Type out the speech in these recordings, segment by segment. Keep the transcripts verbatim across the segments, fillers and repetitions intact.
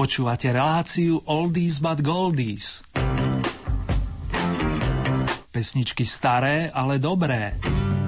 Počúvate reláciu Oldies but Goldies. Pesničky staré, ale dobré.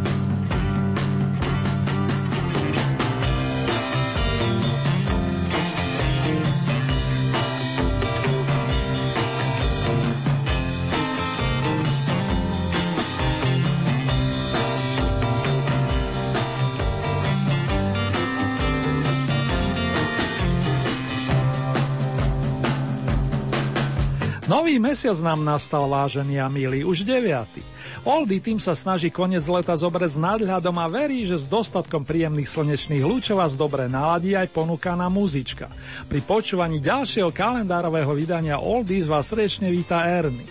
Nový mesiac nám nastal, vážení a milí, už deviaty. Oldie tým sa snaží koniec leta zobrať s nadhľadom a verí, že s dostatkom príjemných slnečných lúčov vás dobre naladí aj ponúkaná muzička. Pri počúvaní ďalšieho kalendárového vydania Oldies vás srdečne víta Ernie.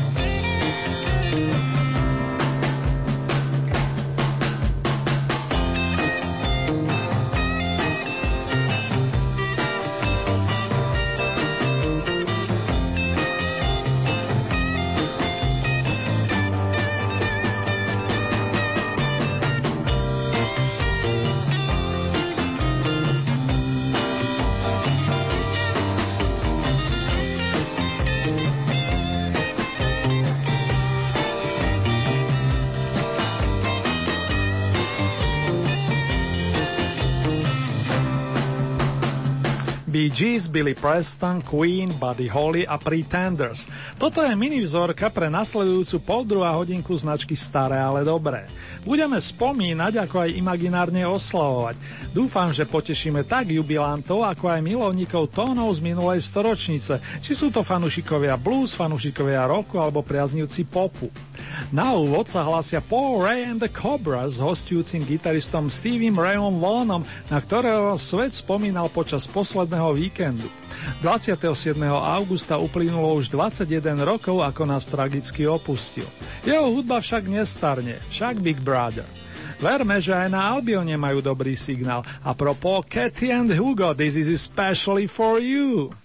Bee Gees, Billy Preston, Queen, Buddy Holly a Pretenders. Toto je minivzorka pre nasledujúcu pol druhá hodinku značky Staré, ale dobré. Budeme spomínať, ako aj imaginárne oslavovať. Dúfam, že potešíme tak jubilantov, ako aj milovníkov tónov z minulej storočnice, či sú to fanúšikovia blues, fanúšikovia rocku alebo priaznivci popu. Na úvod sa hlasia Paul Ray and the Cobras s hostujúcim gitaristom Steviem Rayom Vaughanom, na ktorého svet spomínal počas posledného víkendu. dvadsiateho siedmeho augusta uplynulo už dvadsaťjeden rokov, ako nás tragicky opustil. Jeho hudba však nestarne, však Big Brother. Verme, že aj na Albione majú dobrý signál. A propos Cathy and Hugo, this is especially for you.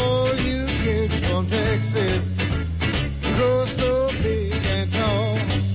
Texas, grow so big and tall.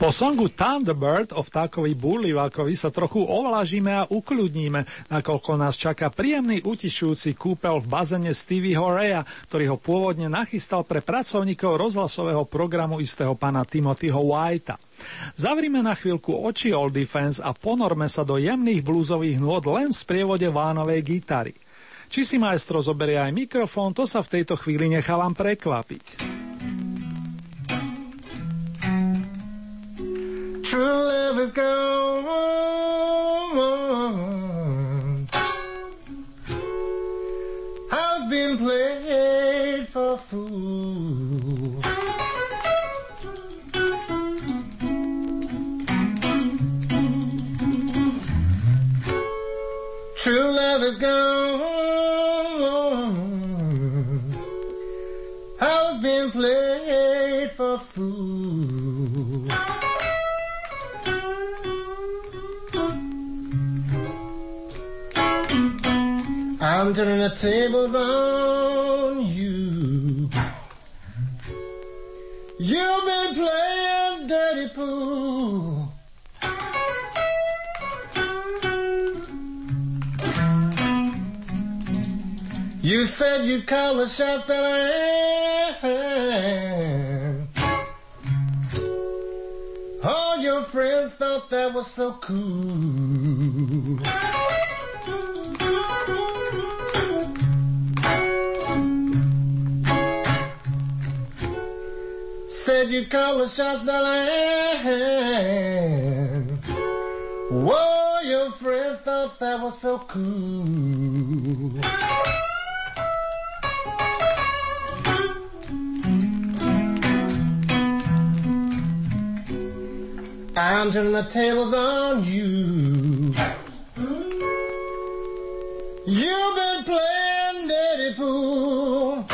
Po songu Thunderbird o vtákovi búrlivákovi sa trochu ovlažíme a ukľudníme, nakoľko nás čaká príjemný utišujúci kúpel v bazene Stevieho Raya, ktorý ho pôvodne nachystal pre pracovníkov rozhlasového programu istého pána Timothyho Whitea. Zavrime na chvíľku oči Old Defense a ponorme sa do jemných blúzových nôd len v sprievode vánovej gitary. Či si maestro zoberie aj mikrofón, to sa v tejto chvíli nechávam prekvapiť. True love is gone. I've been played for a fool. True love is gone. I've been played for a fool. I'm turning the tables on you. You've been playing dirty pool. You said you'd call the shots that I had. All your friends thought that was so cool. Said you'd call the shots that I had. Whoa, your friends thought that was so cool. I'm turning the tables on you. You've been playing dirty pool.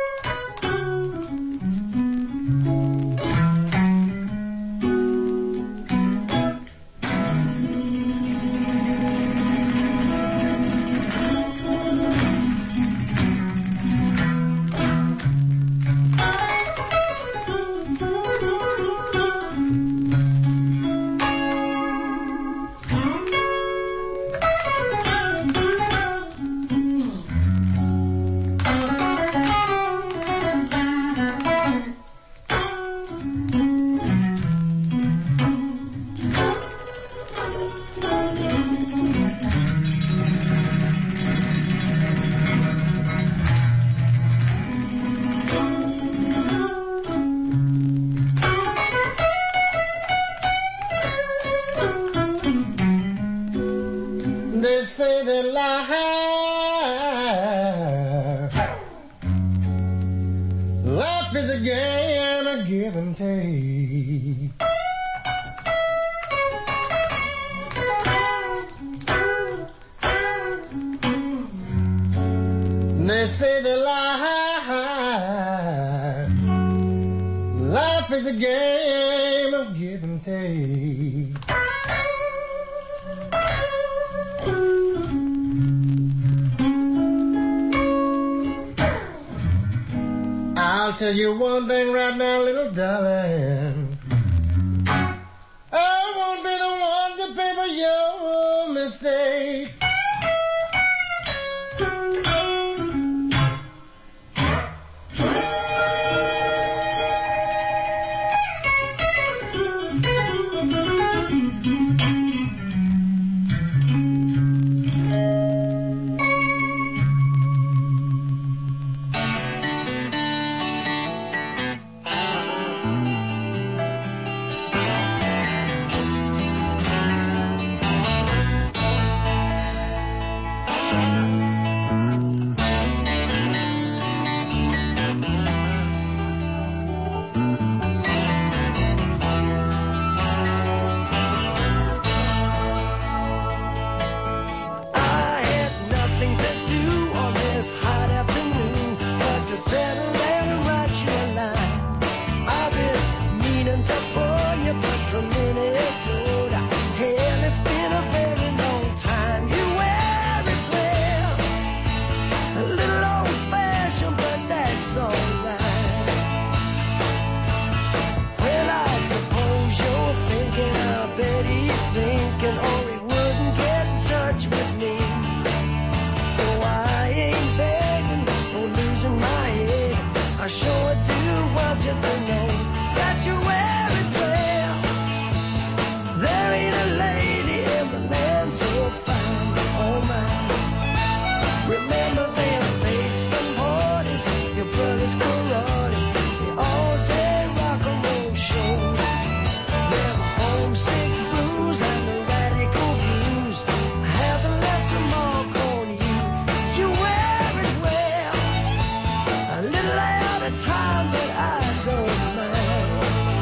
Tell you one thing right now, little darling. I won't be the one to pay for your mistake. sinking or he wouldn't get in touch with me. Oh, I ain't begging or losing my head. I sure do want you to know that you wear it well. There ain't a lady in the land so fine, oh my. Remember them basement parties, your brother's karate, the all-day rock and roll shows. Them homesick blues and the radical blues haven't left a mark on you. You wear it well, a little out of time, but I don't mind.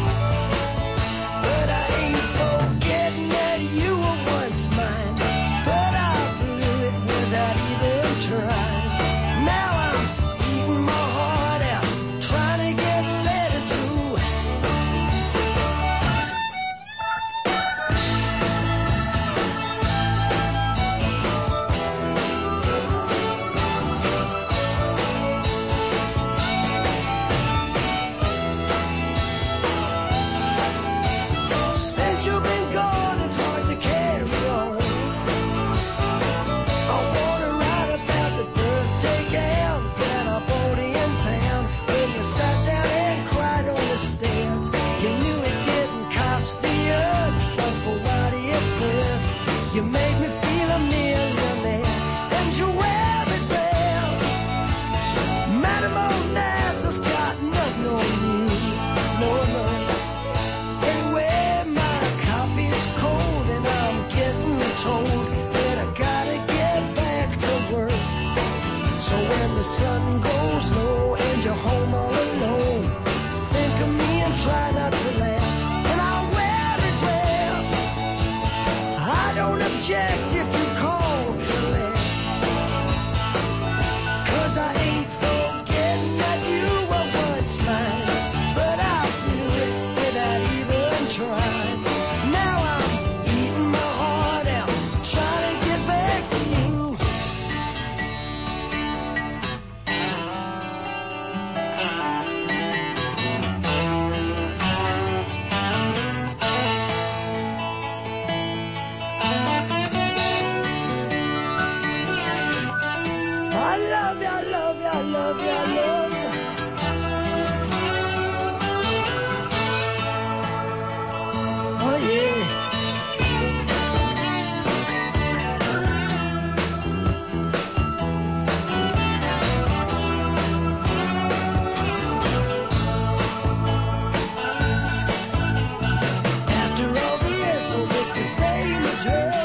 But I ain't forgetting that you were once mine. But I blew it without even trying. Now I'm eating my heart out, trying to get a letter through. Since you've been gone, it's hard to carry on. I wanna write about the birthday gown that I bought in town. When you sat down and cried on the stairs, you knew it didn't cost the earth, but for what it's worth, you made me feel a millionaire, and you wear it well. Madam Onassis got nothing on you, no, no. Anyway, my coffee's cold and I'm getting told that I gotta get back to work. So when the sun goes low and you're home all alone, think of me and try not to laugh. And I'll wear it well. I don't object if you call collect, 'cause I ain't forgetting that you were once mine. But I blew it without even trying. Now I'm eating my heart out, trying to get back to you. I love you, I love you, I love you, I love you. Oh yeah. After all the years, so it's the same address.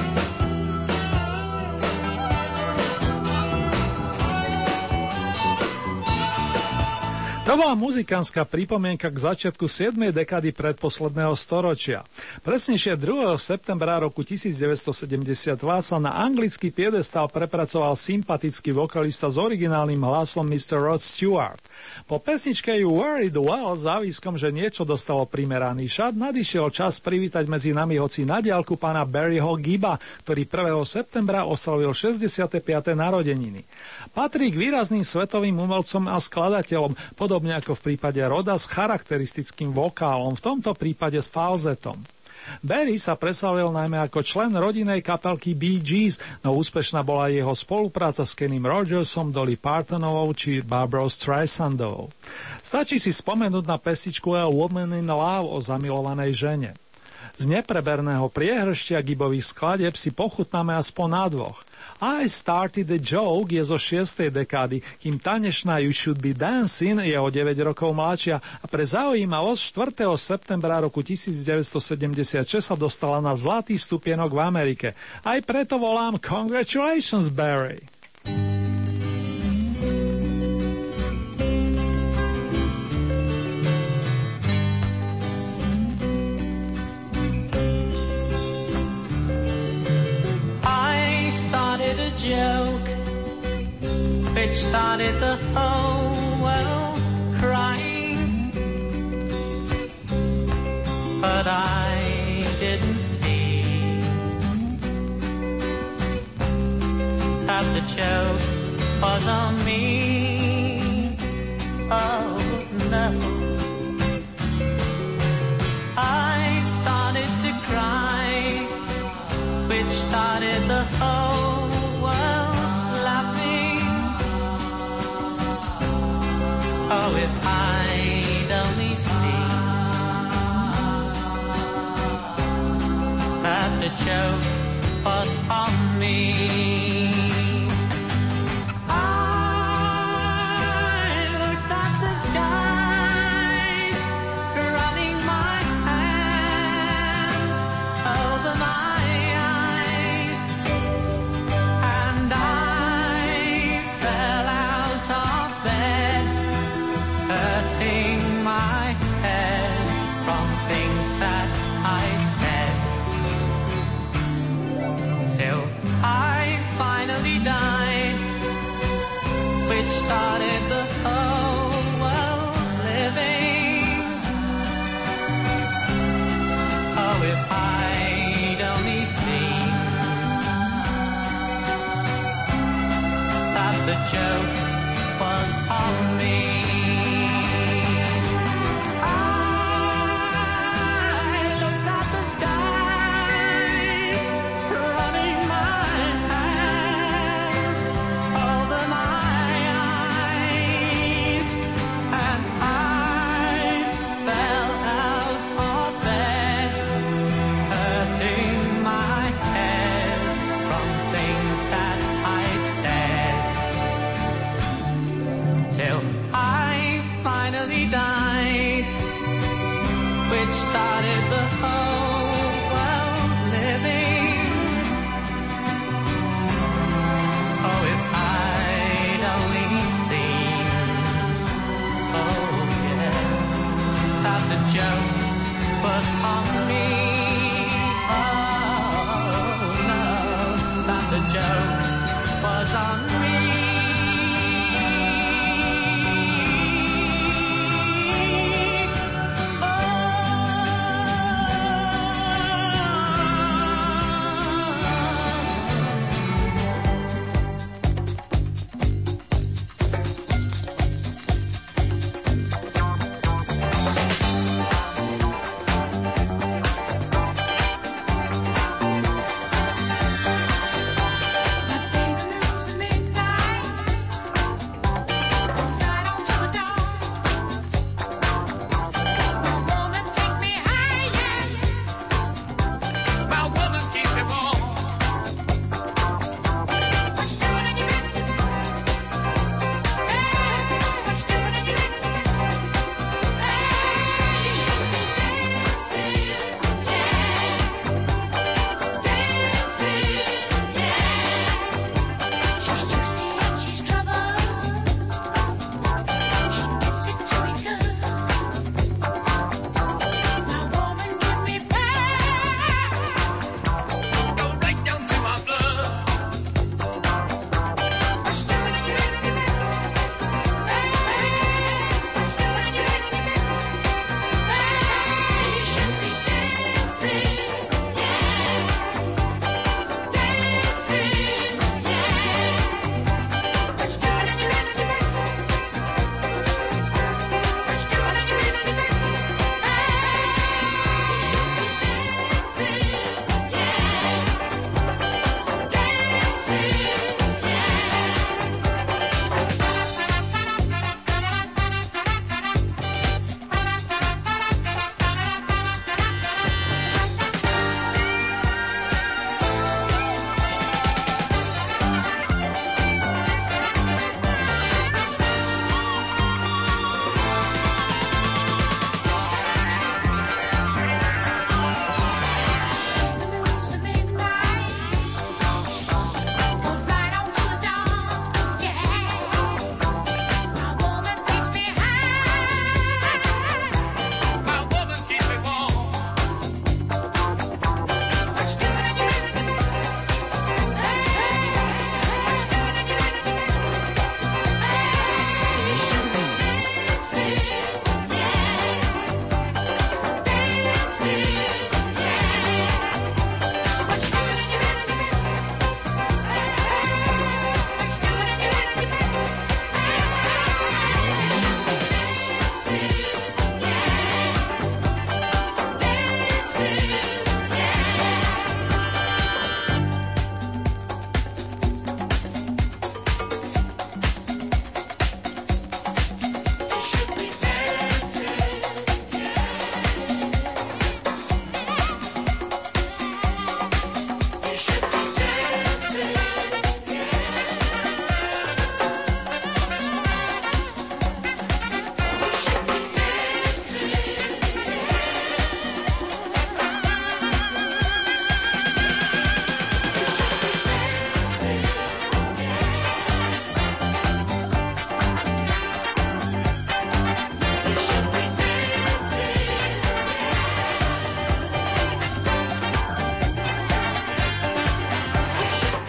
To bola muzikánska pripomienka k začiatku siedmej dekády predposledného storočia. Presnejšie druhého septembra roku devätnásťsedemdesiatdva sa na anglický piedestal prepracoval sympatický vokalista s originálnym hlasom mister Rod Stewart. Po pesničke You Worried Well s záviskom, že niečo dostalo primeraný šat, nadišiel čas privítať medzi nami hoci na diaľku pána Barryho Gibba, ktorý prvého septembra oslavil šesťdesiate piate narodeniny. Patrí k výrazným svetovým umelcom a skladateľom, podobne ako v prípade Roda s charakteristickým vokálom, v tomto prípade s falzetom. Barry sa preslavil najmä ako člen rodinnej kapelky Bee Gees, no úspešná bola jeho spolupráca s Kenym Rogersom, Dolly Partonovou či Barbarou Streisandovou. Stačí si spomenúť na pesničku A Woman in Love o zamilovanej žene. Z nepreberného priehrštia Gibbových skladieb si pochutnáme aspoň na dvoch. I Started a Joke je zo šiestej dekády, kým tanečná You Should Be Dancing je o deväť rokov mladšia a pre zaujímavosť štvrtého septembra roku devätnásťsedemdesiatšesť sa dostala na zlatý stupienok v Amerike. Aj preto volám Congratulations, Barry! Joke which started the whole world crying, but I didn't see that the joke was on me. Oh no, I started to cry whole world laughing. Oh, if I'd only seen that the joke was on me. Finally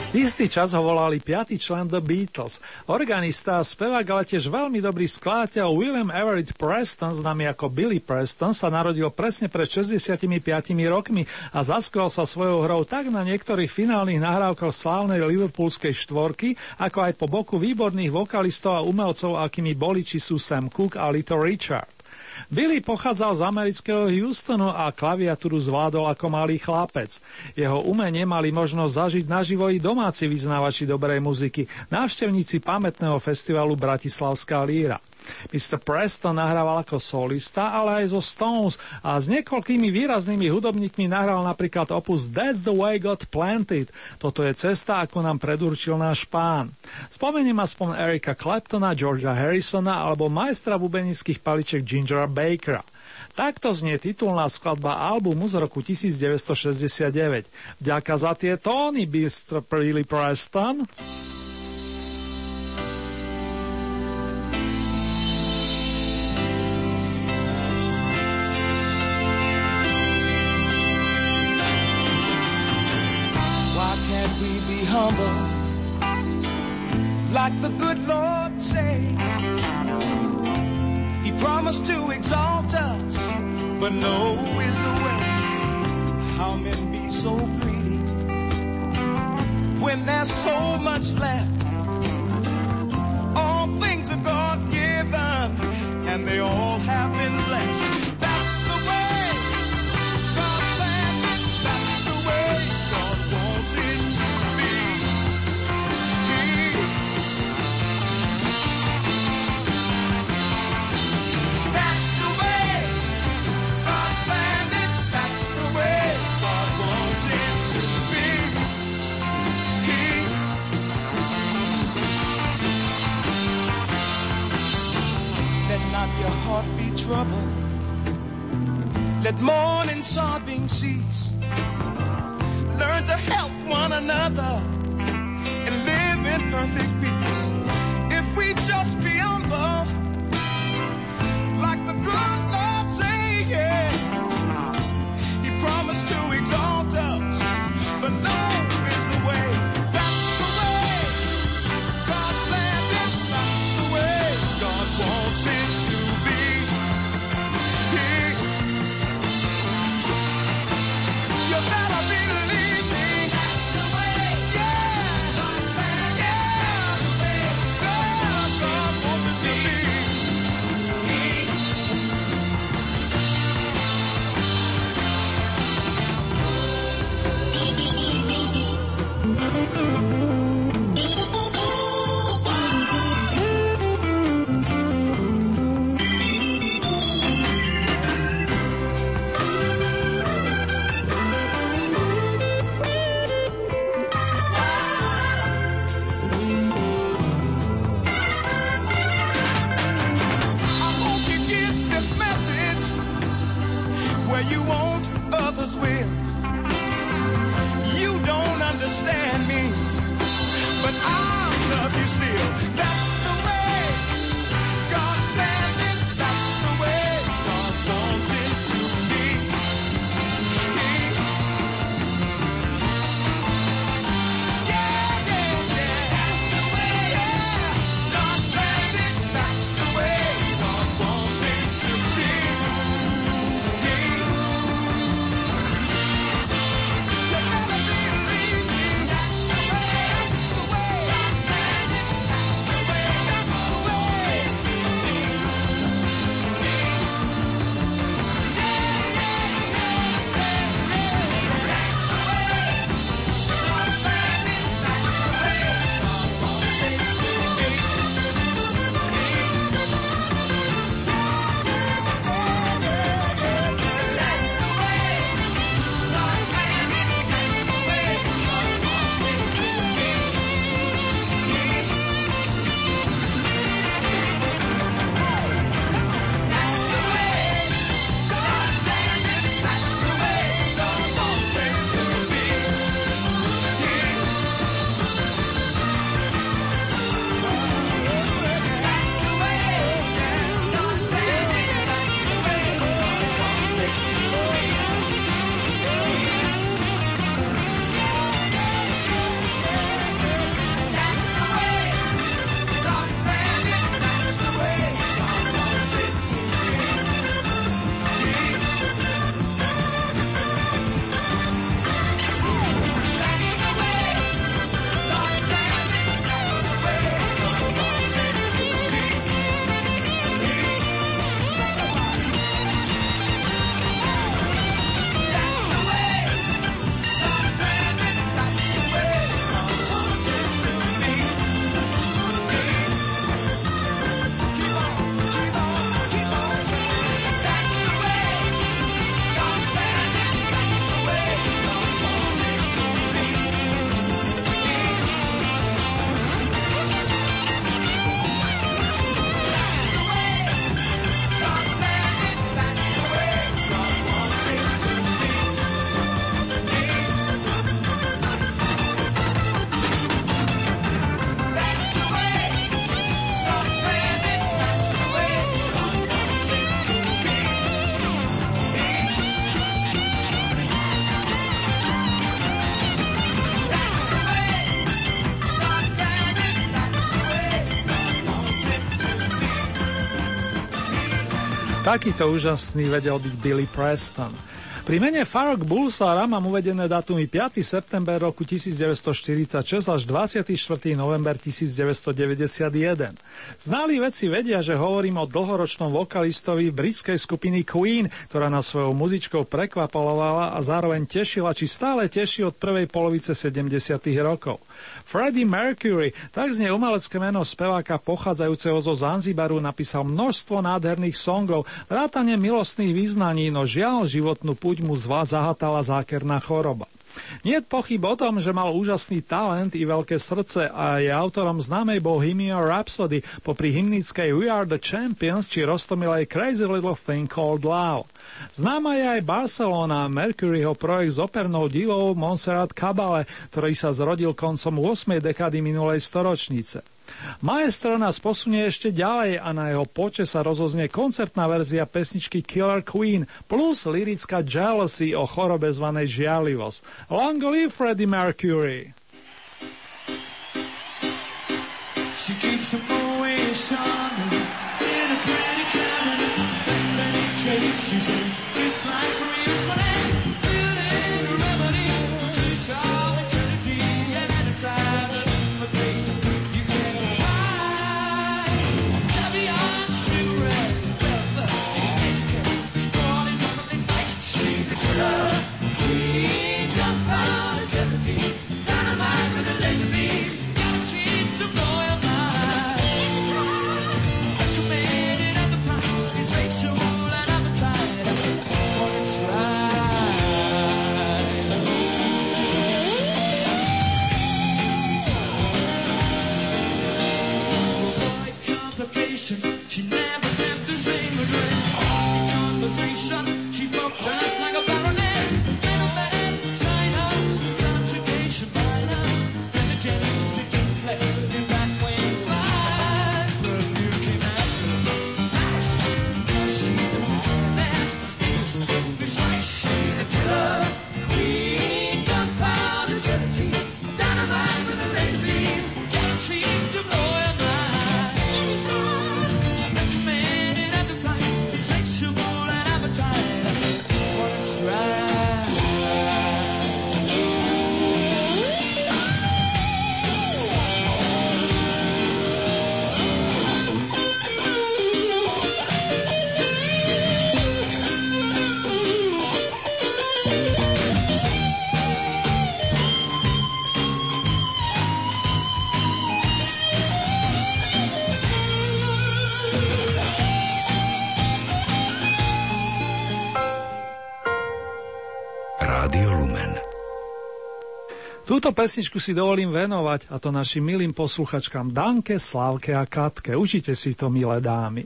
Istý čas ho volali piaty člen The Beatles. Organista a spevák, ale tiež veľmi dobrý skladateľ William Everett Preston, známy ako Billy Preston, sa narodil presne pred šesťdesiatpäť rokmi a zaskoval sa svojou hrou tak na niektorých finálnych nahrávkach slávnej liverpoolskej štvorky, ako aj po boku výborných vokalistov a umelcov, akými boli či sú Sam Cooke a Little Richard. Billy pochádzal z amerického Houstonu a klaviatúru zvládol ako malý chlapec. Jeho umenie mali možnosť zažiť naživo i domáci vyznávači dobrej muziky, návštevníci pamätného festivalu Bratislavská líra. mister Preston nahrával ako solista, ale aj zo Stones a s niekoľkými výraznými hudobníkmi nahral napríklad opus That's the Way God Planned It. Toto je cesta, ako nám predurčil náš pán. Spomeniem aspoň Erika Claptona, Georgea Harrisona alebo majstra bubenických paliček Gingera Bakera. Takto znie titulná skladba albumu z roku devätnásťstošesťdesiatdeväť. Ďaká za tie tóny, mister Billy Preston. Humble, like the good Lord say. He promised to exalt us, but no is the way. How men be so greedy when there's so much left. All things are God given, and they all have been blessed. That's the way God planned it. That's the way God wants it to be. That's the way God planned it. That's the way God wants it to be. Let not your heart be troubled. Let mourning, sobbing cease. Learn to help one another and live in perfect peace. If we just be humble, like the good Lord say, yeah. He promised to exalt us, but no is the way. That's the way God planned it. That's the way God wants it to be. Yeah. You better believe me. That's the way. Yeah. God planned it. That's the way God, God wants it to be. You want, others will. You don't understand me, Takýto úžasný vedel byť Billy Preston. Pri mene Farrokh Bulsara mám uvedené datumy piateho september roku devätnásťstoštyridsaťšesť až dvadsiateho štvrtého november devätnásťstodeväťdesiatjeden. Znali vedci vedia, že hovorím o dlhoročnom vokalistovi britskej skupiny Queen, ktorá nás svojou muzičkou prekvapovala a zároveň tešila, či stále teší od prvej polovice sedemdesiatych rokov. Freddie Mercury, tak znie umelecké meno speváka pochádzajúceho zo Zanzibaru, napísal množstvo nádherných songov, vrátane milostných význaní, no žiaľ životnú púť mu zvá zahatala zákerná choroba. Nie je pochyb o tom, že mal úžasný talent i veľké srdce a je autorom známej Bohemian Rhapsody, popri hymnickej We Are the Champions či roztomilej Crazy Little Thing Called Love. Známa je aj Barcelona, Mercuryho projekt s opernou divou Montserrat Caballé, ktorý sa zrodil koncom ôsmej dekády minulej storočnice. Maestro nás posunie ešte ďalej a na jeho poče sa rozoznie koncertná verzia pesničky Killer Queen plus lyrická Jealousy o chorobe zvanej žiarlivosť. Long live Freddie Mercury! She keeps a wish on me in a pretty cabinet. In many cases, she's just like real sweat. Feeling a remedy, kiss all eternity, and at a time, a place you can't hide. Caviar, cigarettes, bloodthirsty etiquette, spoiling nothing nice. She's a killer queen, gunpowder eternity, dynamite with a laser beam, guaranteed to blow your mind. She never left the same address. In conversation, she spoke just like a baroness. Middleman, China, conjugation minor, energetic city play. In that way, fine perfume came after. Nice, she don't care less. Sticks, besides, she's a killer queen, gunpowder eternity, dynamite with a laser beam, guaranteed to blow your mind. Túto pesničku si dovolím venovať, a to našim milým posluchačkám Danke, Slávke a Katke. Užite si to, milé dámy.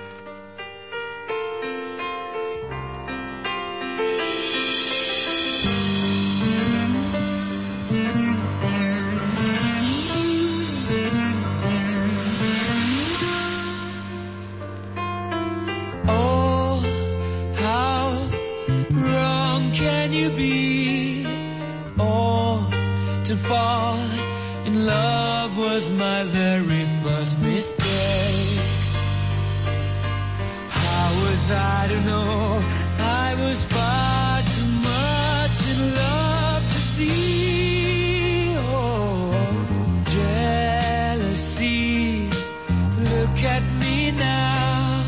Oh, how wrong can you be? Oh, to fall in love was my very first mistake. How was I to know I was far too much in love to see? Oh, jealousy, look at me now.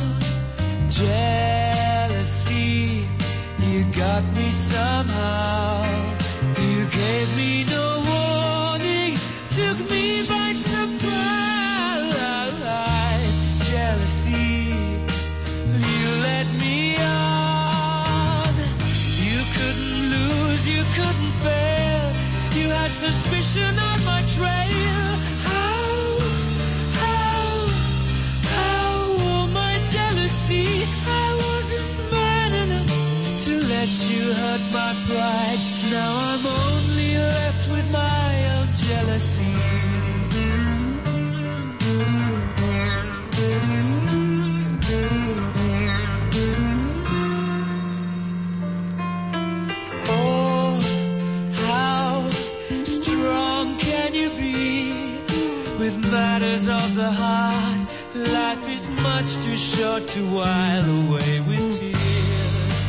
Jealousy, you got me somehow. You gave me no warning, took me by surprise. Jealousy, you led me on. You couldn't lose, you couldn't fail. You had suspicion on my trail. How, how, how, oh my jealousy, I wasn't man enough to let you hurt my pride. Now I'm only left with my own jealousy. Oh, how strong can you be with matters of the heart? Life is much too short to while away with tears.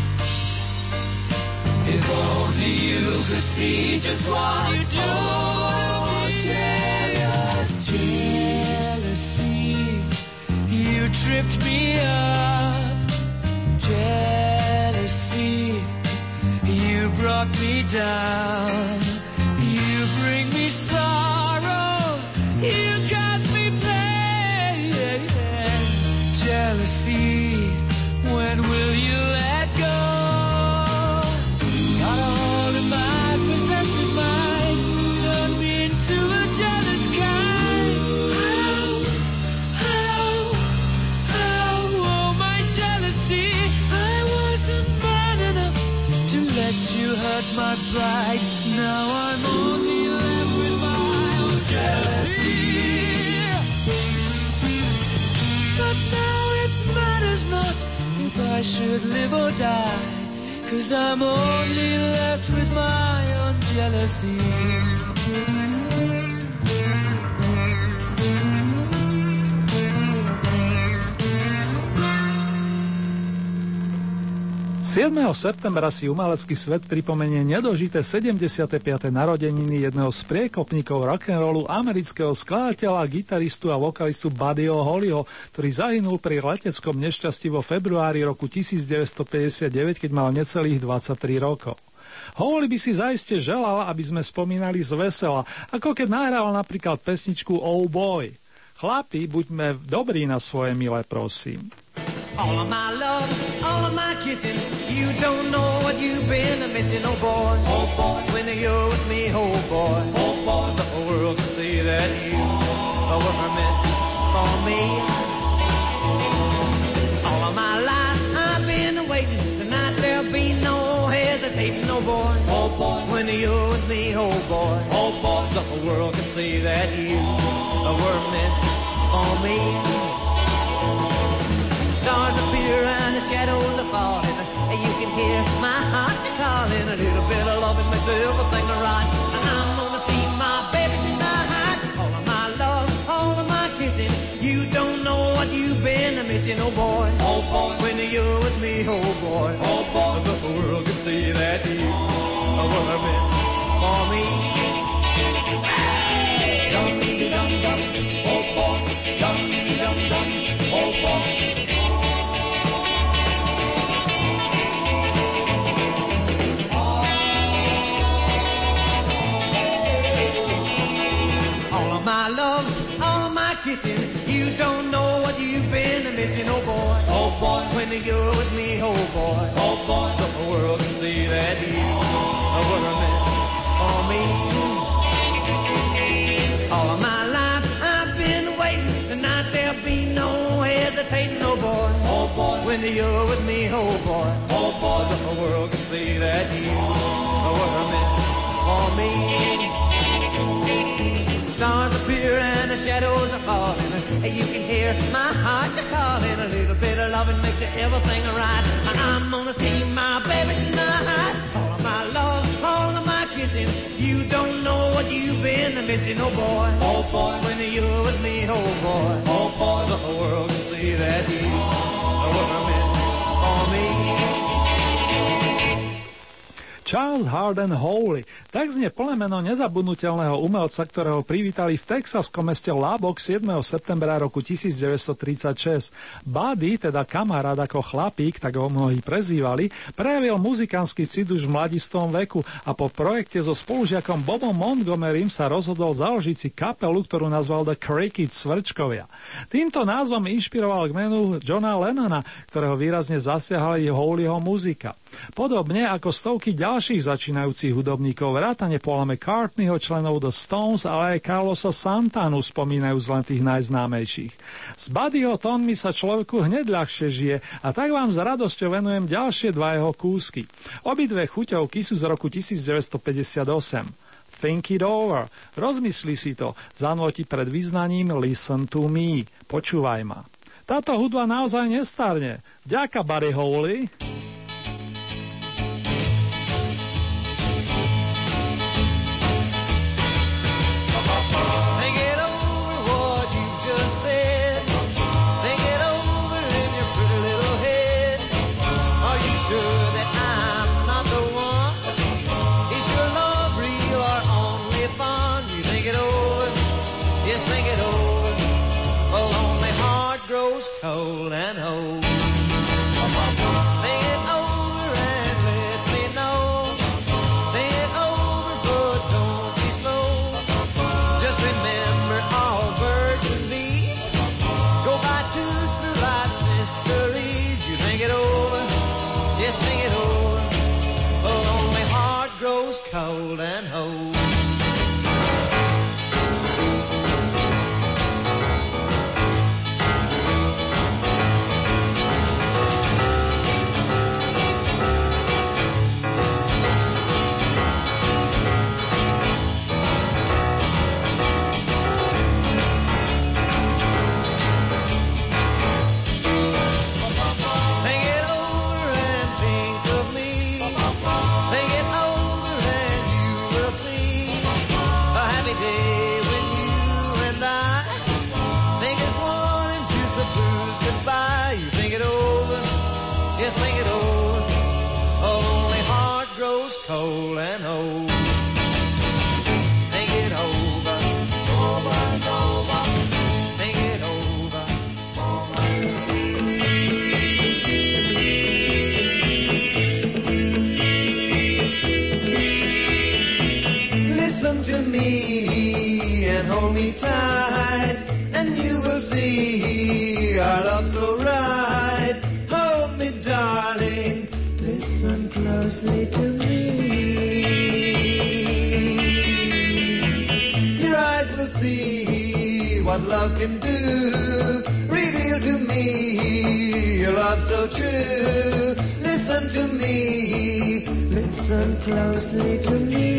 If only you could see just what you do to me. Jealousy, jealousy, you tripped me up. Jealousy, you brought me down. You bring me sorrow, you cause me pain. Jealousy, when will you let go? Got a hold of my possessive mind, turned me into a jealous kind. How, how, how, oh my jealousy, I wasn't man enough to let you hurt my pride. Now I'm only left with my own jealousy. But now it matters not if I should live or die, 'cause I'm only left with my own jealousy. siedmeho septembra si umelecký svet pripomenie nedožité sedemdesiate piate narodeniny jedného z priekopníkov rock'n'rollu, amerického skladateľa, gitaristu a vokalistu Buddyho Hollyho, ktorý zahynul pri leteckom nešťastí vo februári roku devätnásťstopäťdesiatdeväť, keď mal necelých dvadsaťtri rokov. Holly by si zaiste želal, aby sme spomínali z vesela, ako keď nahrával napríklad pesničku Oh Boy. Chlapi, buďme dobrí na svoje milé, prosím. All of my love, all of my kissing, you don't know what you've been missing, oh boy. Oh boy, when you're with me, oh boy. Oh boy, the whole world can see that you were meant for me. All of my life I've been waiting, tonight there'll be no hesitating, oh boy. Oh boy, when you're with me, oh boy. Oh boy, the whole world can see that you were meant for me. Stars appear and the shadows are falling. You can hear my heart calling. A little bit of loving makes everything right. And I'm gonna see my baby tonight. All of my love, all of my kissing. You don't know what you've been missing, oh boy. Oh boy, when you're with me, oh boy. Oh boy, the whole world can see that you were meant for me. Dum dum dum, oh boy. Dum dum dum, oh boy. My love, all my kissing, you don't know what you've been missing, oh boy. Oh boy, when you're with me, oh boy. Oh boy, the whole world can see that you were meant for me. All of my life I've been waiting, tonight there'll be no hesitating, oh boy. Oh boy, when you're with me, oh boy. Oh boy, the whole world can see that you were meant for me. Stars appear and the shadows are falling. You can hear my heart calling. A little bit of loving makes everything right. I'm gonna see my baby tonight. All of my love, all of my kissing. You don't know what you've been missing, oh boy. Oh boy, when you're with me, oh boy. Oh boy, the whole world can see that you were meant for me. Charles Hardin Holly. Tak znie plné meno nezabudnutelného umelca, ktorého privítali v texaskom meste Lubbock siedmeho septembra roku devätnásťstotridsaťšesť. Buddy, teda kamarát ako chlapík, tak ho mnohí prezývali, prejavil muzikánsky cit už v mladistom veku a po projekte so spolužiakom Bobom Montgomerym sa rozhodol založiť si kapelu, ktorú nazval The Crickets Svrčkovia. Týmto názvom inšpiroval k menu Johna Lennona, ktorého výrazne zasiahali Hollyho muzika. Podobne ako stovky ďalších začínajúcich hudobníkov, vrátane Paula McCartneyho, členov The Stones, ale aj Carlosa Santanu, spomínajú len tých najznámejších. S Buddyho tónmi sa človeku hneď ľahšie žije a tak vám s radosťou venujem ďalšie dva jeho kúsky. Obidve chuťovky sú z roku devätnásťstopäťdesiatosem. Think it over, rozmysli si to, zanúti pred vyznaním Listen to me, počúvaj ma. Táto hudba naozaj nestarne. Vďaka Buddy Holly. cold and old. Think it over and let me know. Think it over, but don't be slow. Just remember all birds and bees go by twos through life's mysteries. You think it over, just think it over. A lonely heart grows cold and old. Cold and old. Think it over, over and over. Think it over, over and over. Listen to me and hold me tight, and you will see our love so right. Hold me, darling. Listen closely to me. Your eyes will see what love can do. Reveal to me your love so true. Listen to me. Listen closely to me.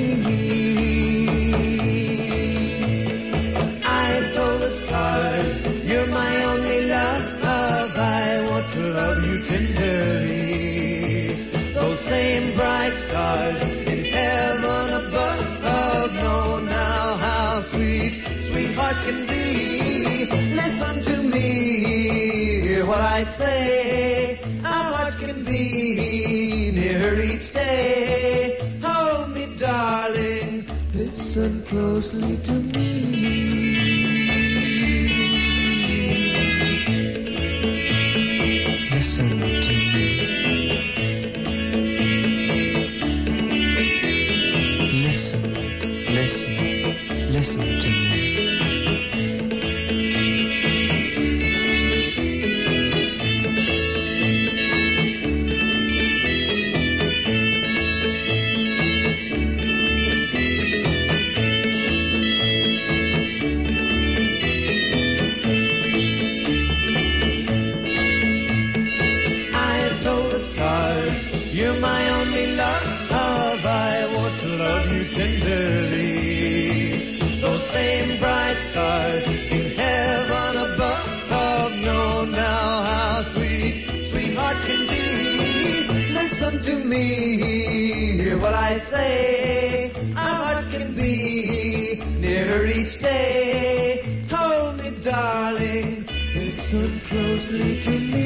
I've told the stars you're my only love. I want to love you tenderly. Those same bright stars in heaven above know now how sweet, sweet hearts can be. Listen to me, hear what I say. Our hearts can be nearer each day. Hold me, darling, listen closely to me. Listen to me. Listen, listen, listen to me. I've told the stars you're my only love. I want to love you tenderly. Those same bright stars in heaven above know now how sweet, sweet hearts can be. Listen to me, hear what I say. Our hearts can be nearer each day. Hold me, darling, listen closely to me.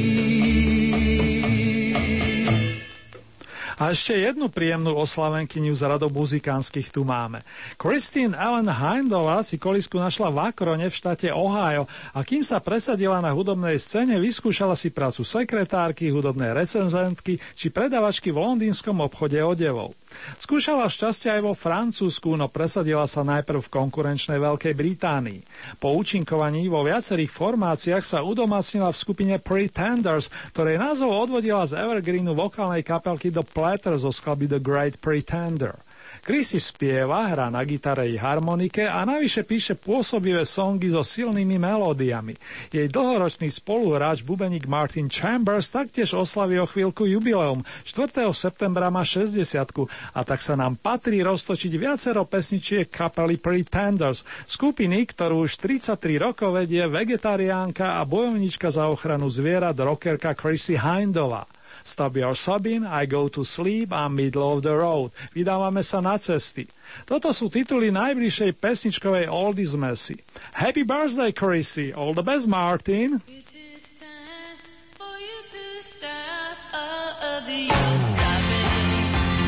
A ešte jednu príjemnú oslavenkyňu z radov muzikánskych tu máme. Christine Ellen Hindová si kolísku našla v Akrone v štáte Ohio a kým sa presadila na hudobnej scéne, vyskúšala si prácu sekretárky, hudobnej recenzentky či predavačky v londýnskom obchode odevov. Skúšala šťastie aj vo Francúzsku, no presadila sa najprv v konkurenčnej Veľkej Británii. Po účinkovaní vo viacerých formáciách sa udomácnila v skupine Pretenders, ktorej názov odvodila z evergreenu vokálnej kapelky The Platters zo skladby The Great Pretender. Chrissy spieva, hrá na gitare i harmonike a navyše píše pôsobivé songy so silnými melódiami. Jej dlhoročný spoluhráč bubeník Martin Chambers taktiež oslaví o chvíľku jubileum. štvrtého septembra má šesťdesiatku a tak sa nám patrí roztočiť viacero pesničiek kapely Pretenders, skupiny, ktorú už tridsaťtri rokov vedie vegetariánka a bojovníčka za ochranu zvierat rockerka Chrissy Hindová. Stop Your Sobbing, I Go to Sleep a Middle of the Road. Vydávame sa na cesty. Toto sú tituly najbližšej pesničkovej oldies messy. Happy birthday, Chrissy. All the best, Martin. It is time for you to stop all of your sobbing.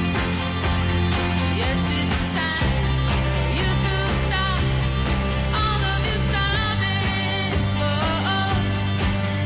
Yes, it's time you to stop all of your sobbing. Oh,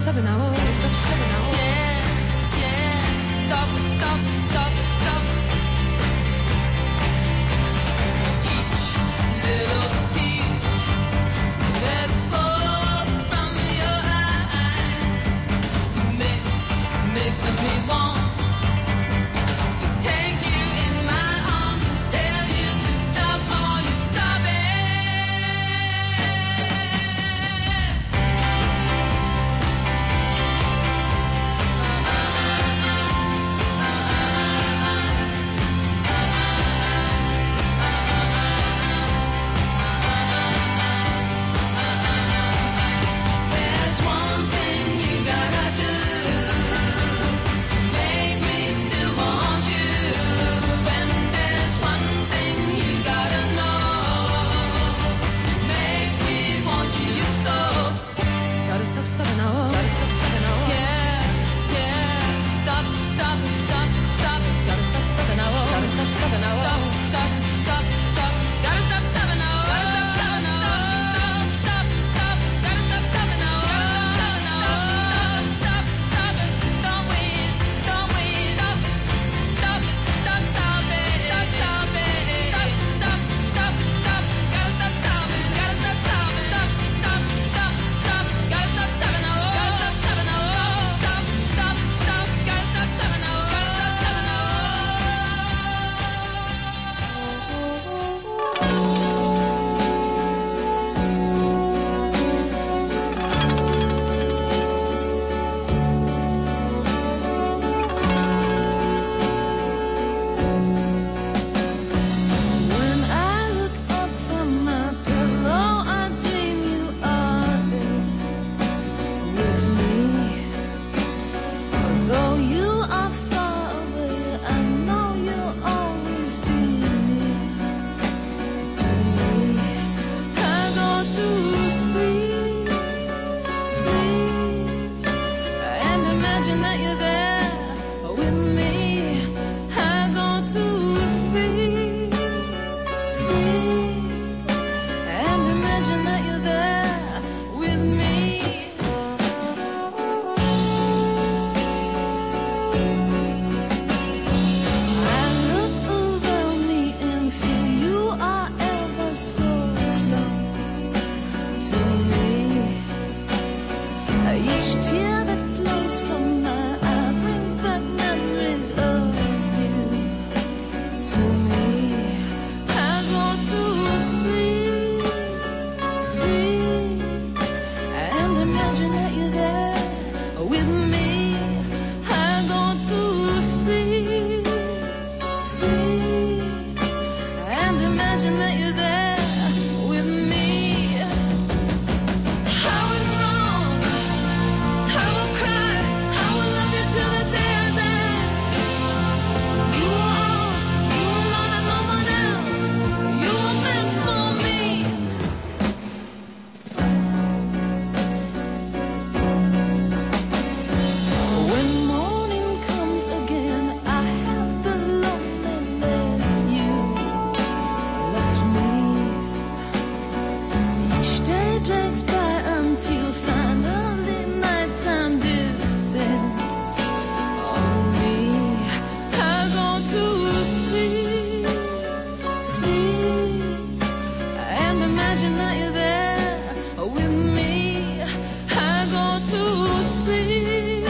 stop it now. Gotta stop, stop it now. Yeah, yeah. Stop it, stop, stop it, stop it. Each little tear that falls from your eye makes makes me want to take you in my arms and tell you to stop all you stop it. There's one thing you gotta do to make me still want you, and there's one thing you gotta know to make me want you so. Gotta stop, stop it now. Gotta stop, stop it now. Yeah, yeah. Stop, stop, stop, stop. Gotta stop, stop it now. Gotta stop, stop it now. Stop, stop, stop, stop. Gotta stop, stop it now. Gotta stop, stop it now. Stop, stop, stop. Gotta stop, stop it now. Gotta stop, stop it now. Stop, stop it. Don't wait, don't wait. Stop it, stop it, stop, stop it, stop, stop it. Stop, stop, stop, stop. Gotta stop, stop it. Gotta stop, stop it. Stop, stop, stop, stop. Gotta stop, stop it now. Gotta stop, stop it now. Stop, stop, stop. Gotta stop, stop it now. Gotta stop, stop it now. When I look up from my pillow, I dream you are there with me. Although you are far away, I know you'll always be near to me. I go to sleep, sleep, and imagine that you're there with me. I go to sleep, sleep, and imagine that you're there with me. I look around me and feel you are ever so close to me. Each tear that flows from my eye brings back memories of you to me. I go to sleep, sleep, and imagine that you're there with me. I go to sleep, sleep, and imagine that you're there with me. I was wrong. I will cry. I will love you till the day I die. You are all, you alone and no one else. You were meant for me. When morning comes again, I have the loneliness you left me. Each day drags by until finally nighttime descends on me. I go to sleep, sleep, and imagine that you're there with me. I go to sleep,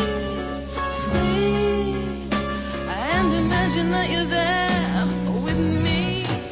sleep, and imagine that you're there with me.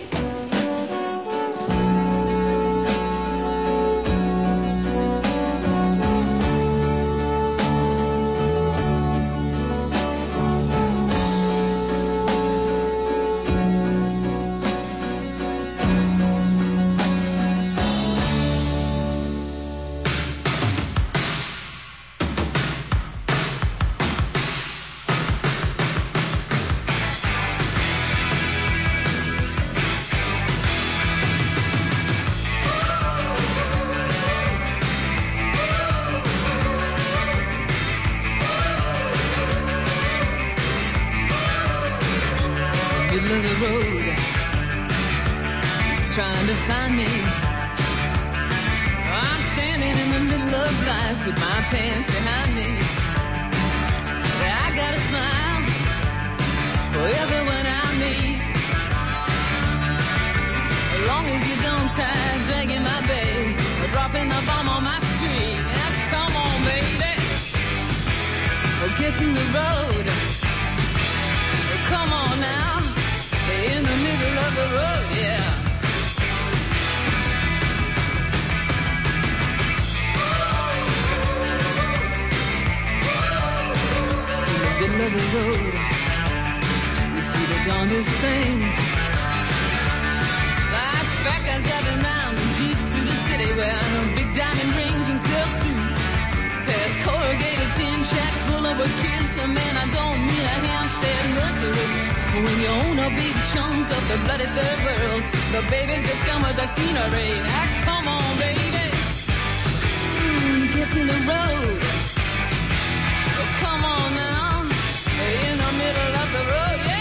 Middle of the road, he's trying to find me. I'm standing in the middle of of life with my pants behind me. I got a smile for everyone I meet. As long as you don't tie dragging my bag or dropping the bomb on my street. Now come on, baby, or get in the road. Come on now, in the middle of the road, yeah. Middle of the road, you see the darndest things, like fat guys driving round in jeeps through the city wearing big diamond rings and silk suits, past corrugated tin shacks full of a kids. So man, I don't mean a Hampstead nursery. When you own a big chunk of the bloody third world, the babies just come with the scenery. Now come on, baby, mm, get in the road. Oh, come on now. In the middle of the road, yeah.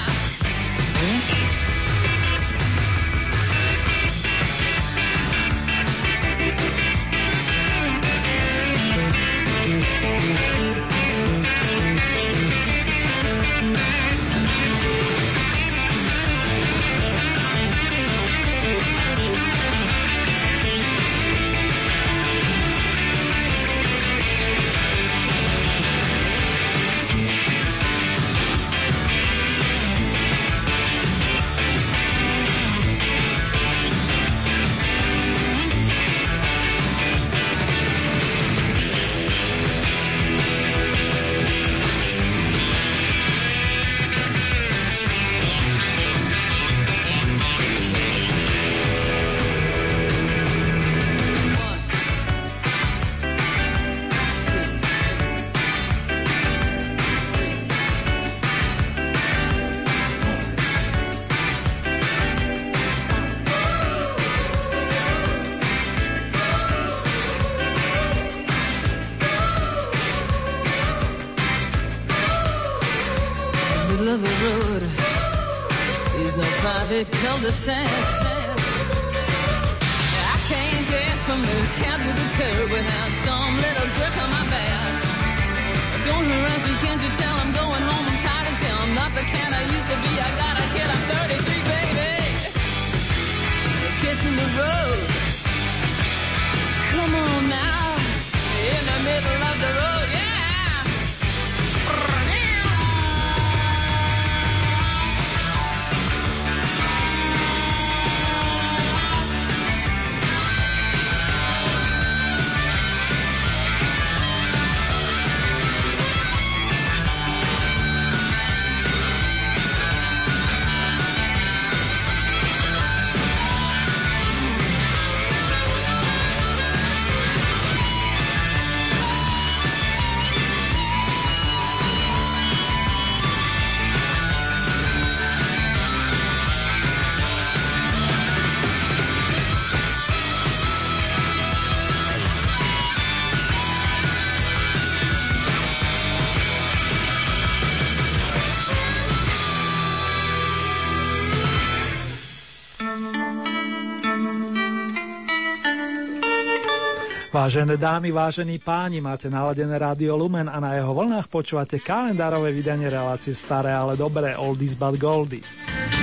Cul-de-sac. I can't get from the cab to the curb without some little jerk on my back. Don't harass me, can't you tell I'm going home? I'm tired as hell. I'm not the kind I used to be. I got a kid, I'm thirty-three, baby. Get in the road. Come on now. In the middle of the road, yeah. Vážené dámy, vážení páni, máte naladené Rádio Lumen a na jeho vlnách počúvate kalendárové vydanie relácie Staré, ale dobré, Oldies but Goldies.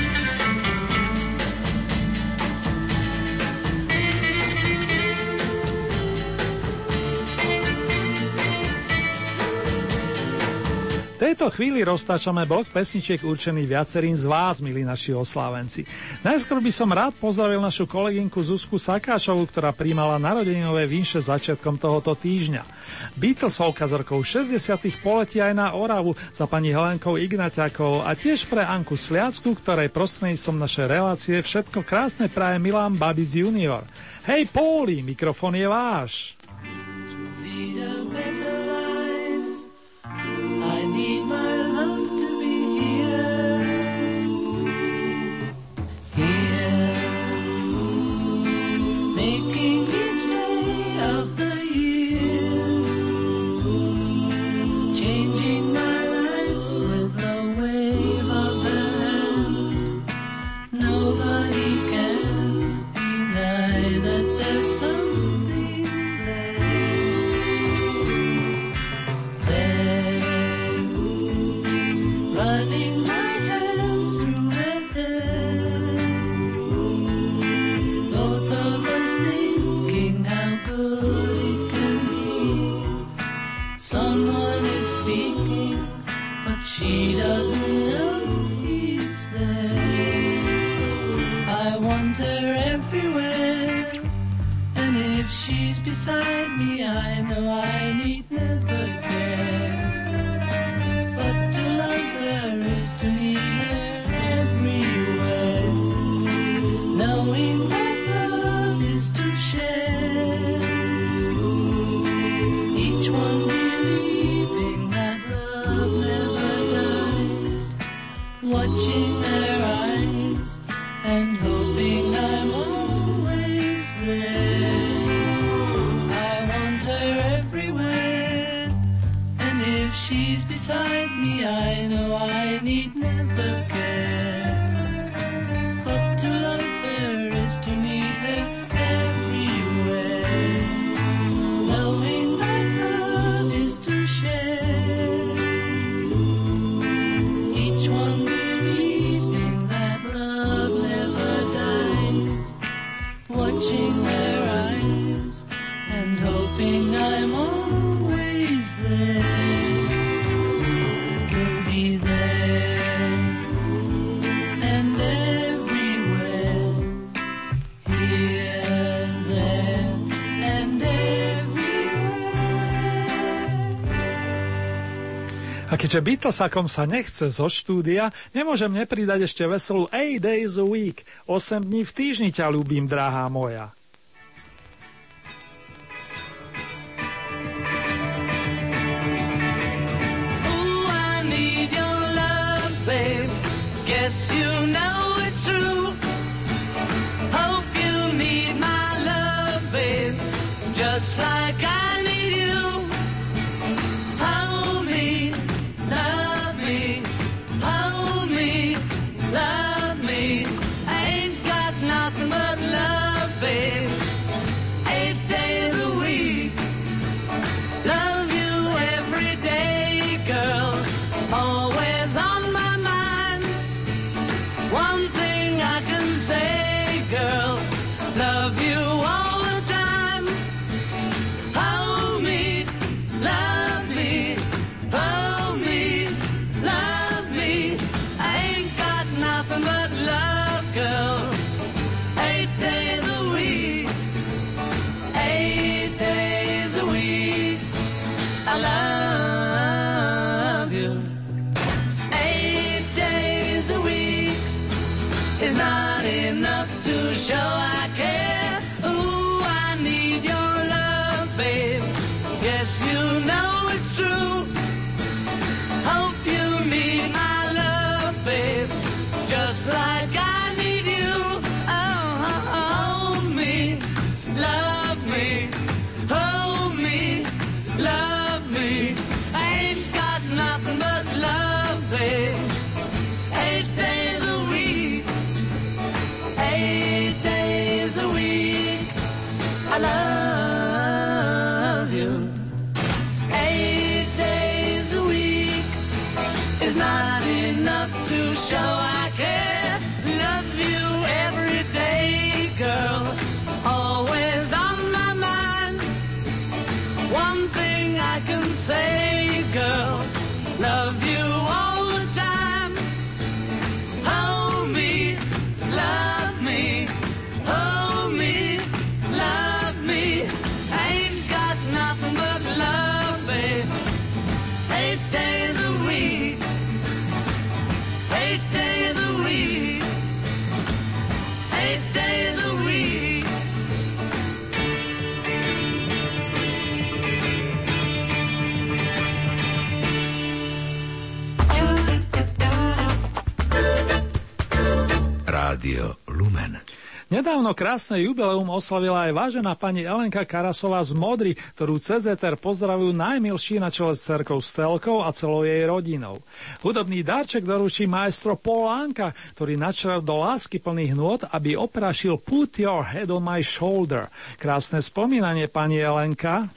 V tejto chvíli roztáčame blok pesničiek určených viacerým z vás, milí naši oslávenci. Najskôr by som rád pozdravil našu kolegynku Zuzku Sakáčovú, ktorá prijímala narodeninové vinše začiatkom tohoto týždňa. Beatlesovka z rokov šesťdesiatych poletí aj na Oravu za pani Helenkou Ignaťakovou a tiež pre Anku Sliacku, ktorej prostredníctvom našej relácie všetko krásne praje Milan Babis junior. Hej Póli, mikrofón je váš. Nobody can deny that there's something there. she doesn't know he's there. I want her everywhere, and if she's beside me, I know I need never care. But to love her is to need her everywhere, knowing that love is to share. Each one believing that love never dies, watching their eyes and hoping I'm always there. I want her everywhere, and if she's beside me, I know I need never care. But to love her is to need her everywhere, knowing that love is to share. Each one believing that love never dies, watching their eyes and hoping I'm always there. We'll be there and everywhere, here, there and everywhere. A keďže Beatlesakom sa nechce zo štúdia, nemôžem nepridať ešte veselú eight days a week. osem dní v týždni ťa ľúbim, drahá moja. Ooh, I need your love, babe. Guess you know it's true. Hope you need my love, babe. Just like I need you. Hold me, love me, hold me, love me. I ain't got nothing but love, babe. Eight days a week. Love you every day, girl. Always on my mind. One thing I can say, girl. Love you all the time. Hold me, love me, hold me, love me. I ain't got nothing but love, girl. Eight days a week. Eight days a week. I love you. Eight days a week is not enough to show I care. Ooh, I need your love, babe. Yes, you know it's true. Hope you need my love, babe. Just like I need you. Oh, hold me, love me, hold me, love me. I ain't got nothing but love, babe. Eight days a week, eight days a week. I love you. Eight days a week is not enough to show I care. Love you every day, girl. Always on my mind. One thing I can say, girl. Love you all the time. Hold me, love me, hold me, love me. I ain't got nothing but love, babe. Eight days a week. Eight days a week. Eight days a week. Rádio Lumen. Nedávno krásne jubileum oslavila aj vážená pani Elenka Karasová z Modry, ktorú cez éter pozdravujú najmilší na čele s dcerkou Stelkou a celou jej rodinou. Hudobný darček doručí maestro Paul Anka, ktorý načal do lásky plných nôt, aby oprašil Put Your Head on My Shoulder. Krásne spomínanie, pani Elenka.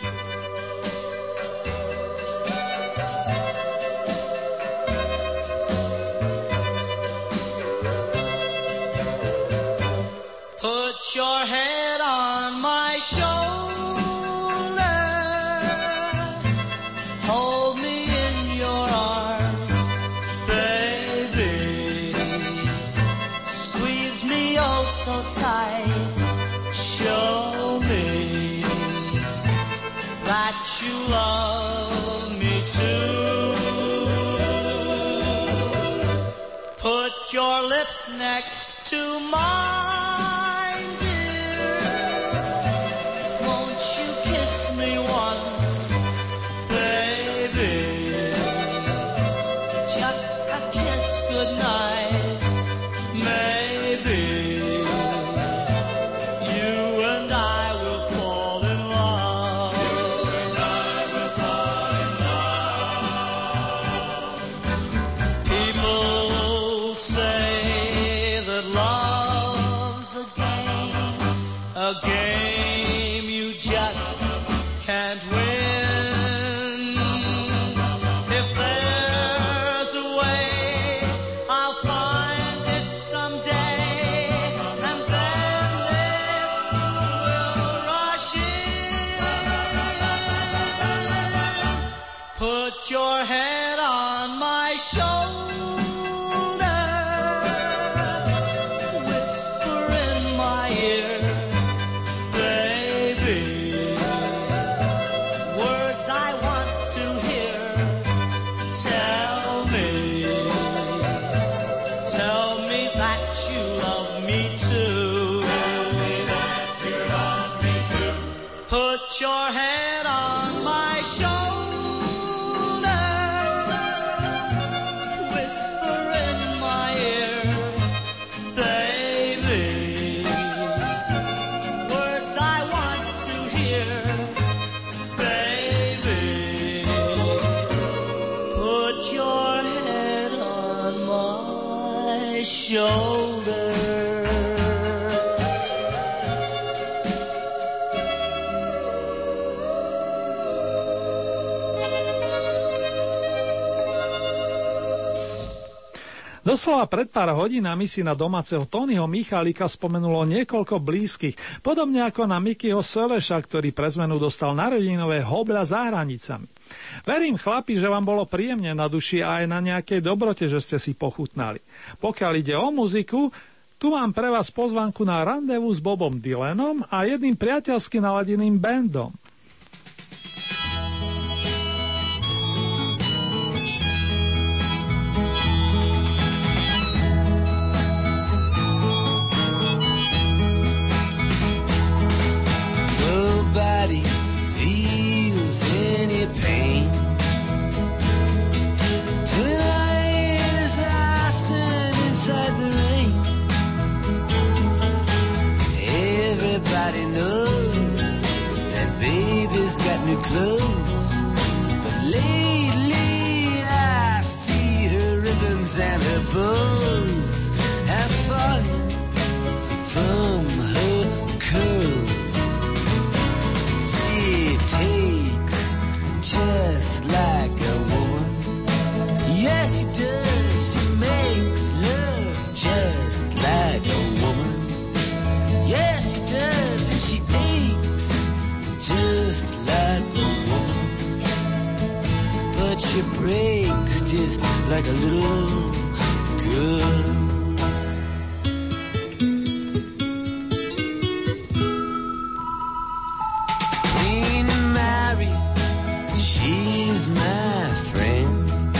Put your head on my shoulder, hold me in your arms, that you love me too. Put your lips next to mine, dear. Won't you kiss me once, baby? Just a kiss goodnight, maybe. You and I will fall in love. You and I will fall in love. People say that love's a game, a game you just can't win. If there's a way, I'll find it someday, and then this moon will rush in. Put your head on my shoulder, whisper in my ear, baby, words I want to hear. Tell me, tell me that you love me too. Tell me that you love me too. Put your head on my shoulder, whisper in my ear, baby, words I want to hear, baby. Put your head on my shoulder. Doslova pred pár hodinami si na domáceho Tonyho Michalika spomenulo niekoľko blízkych, podobne ako na Mikyho Seleša, ktorý pre zmenu dostal narodinové hobľa za hranicami. Verím, chlapi, že vám bolo príjemne na duši a aj na nejakej dobrote, že ste si pochutnali. Pokiaľ ide o muziku, tu mám pre vás pozvánku na randevu s Bobom Dylanom a jedným priateľsky naladeným bandom. Nobody feels any pain. Tonight as I stand inside the rain, everybody knows that baby's got new clothes. But lately I see her ribbons and her bows have fallen from her curls. Takes just like a woman. Yes, she does. She makes love just like a woman. Yes, she does. And she aches just like a woman. But she breaks just like a little girl. My friend,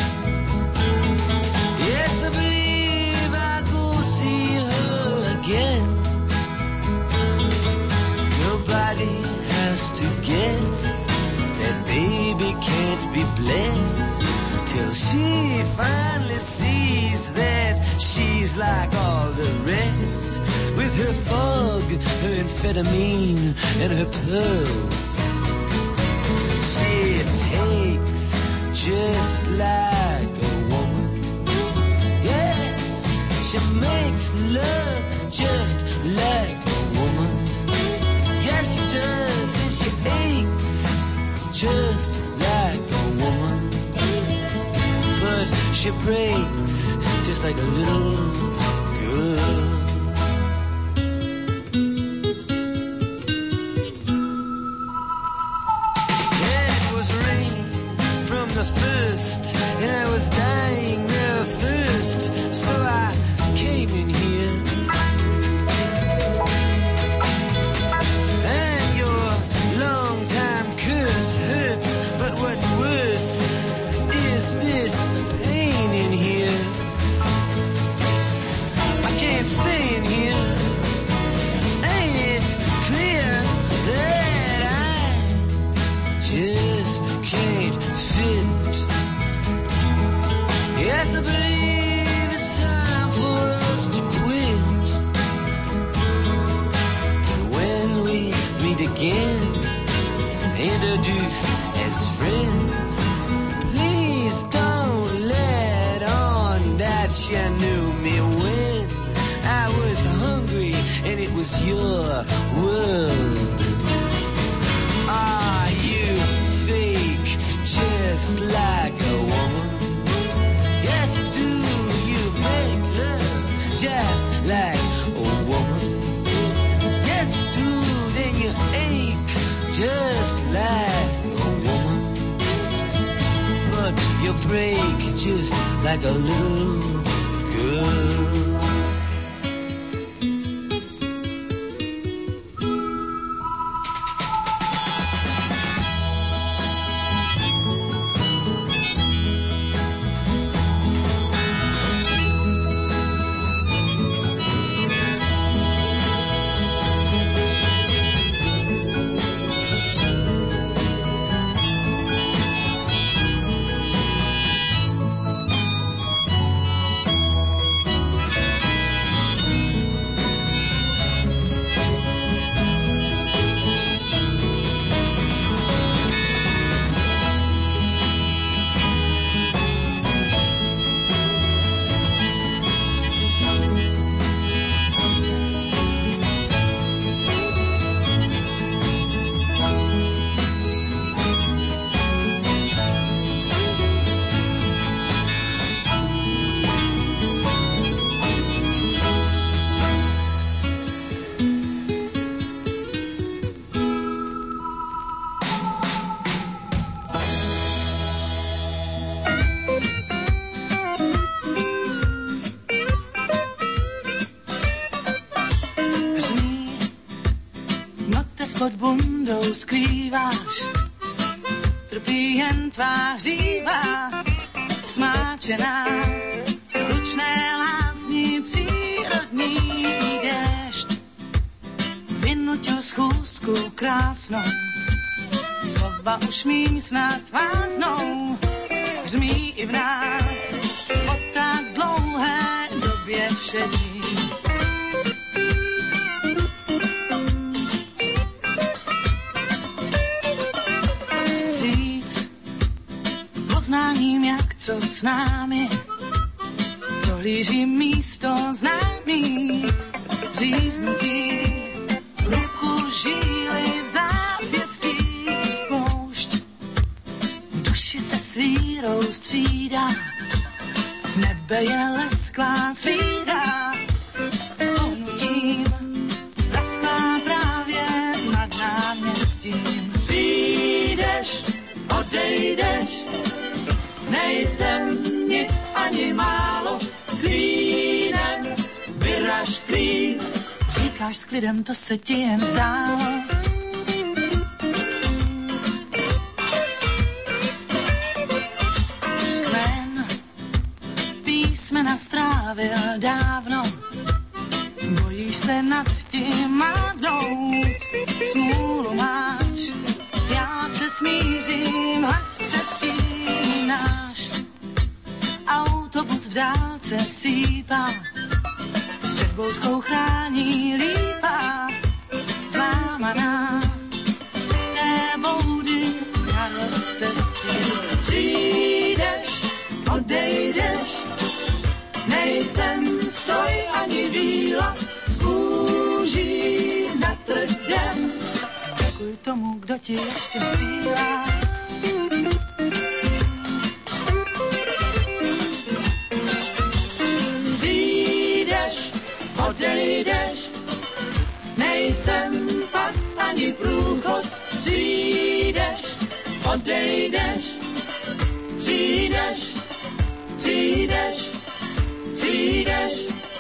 yes, I believe I'll go see her again. Nobody has to guess that baby can't be blessed till she finally sees that she's like all the rest, with her fog, her amphetamine, and her pearls. She takes just like a woman. Yes, she makes love just like a woman. Yes, she does, and she aches just like a woman. But she breaks just like a little girl. And I was dying of thirst, so I came in here. And your long-time curse as friends. Please don't let on that you knew me when I was hungry and it was your world. Are you fake just like a woman? Yes, do you make love just like a woman? Yes, do, then you ache just like a woman. But you break just like a little girl. Pod bundou skrýváš, trpí jen tvá hříva, smáčená, ručné lásní přírodní déšť. Vynuťu schůzku krásnou, slova už mým snad váznou, hřmí i v nás, po tak dlouhé době všední. Poznáním, jak co s námi, dohlížím místo známý, říznutí, ruku žíly v zápěstí spoušť. V duši se svírou střídá, nebe je lesklá svíra, pohnutím lesklá právě nad náměstím. Přijdeš, odejdeš, nejsem nic ani málo, klínem vyraž klín. Říkáš s klidem, to se ti jen zdálo. Kmen písmena strávil dávno, bojíš se nad tím mávnout. Smůlu máš, já se smířím, hladce stínáš. Autobus v dálce sípá, před bouřkou chrání lípa, zlámaná té boudy na rozcestí. Přijdeš, odejdeš, nejsem stroj ani víla, z kůží na tvrdém. Děkuj tomu, kdo ti ještě zpívá. Odejdeš, nejsem past ani průchod, přijdeš, odejdeš, přijdeš, přijdeš, přijdeš.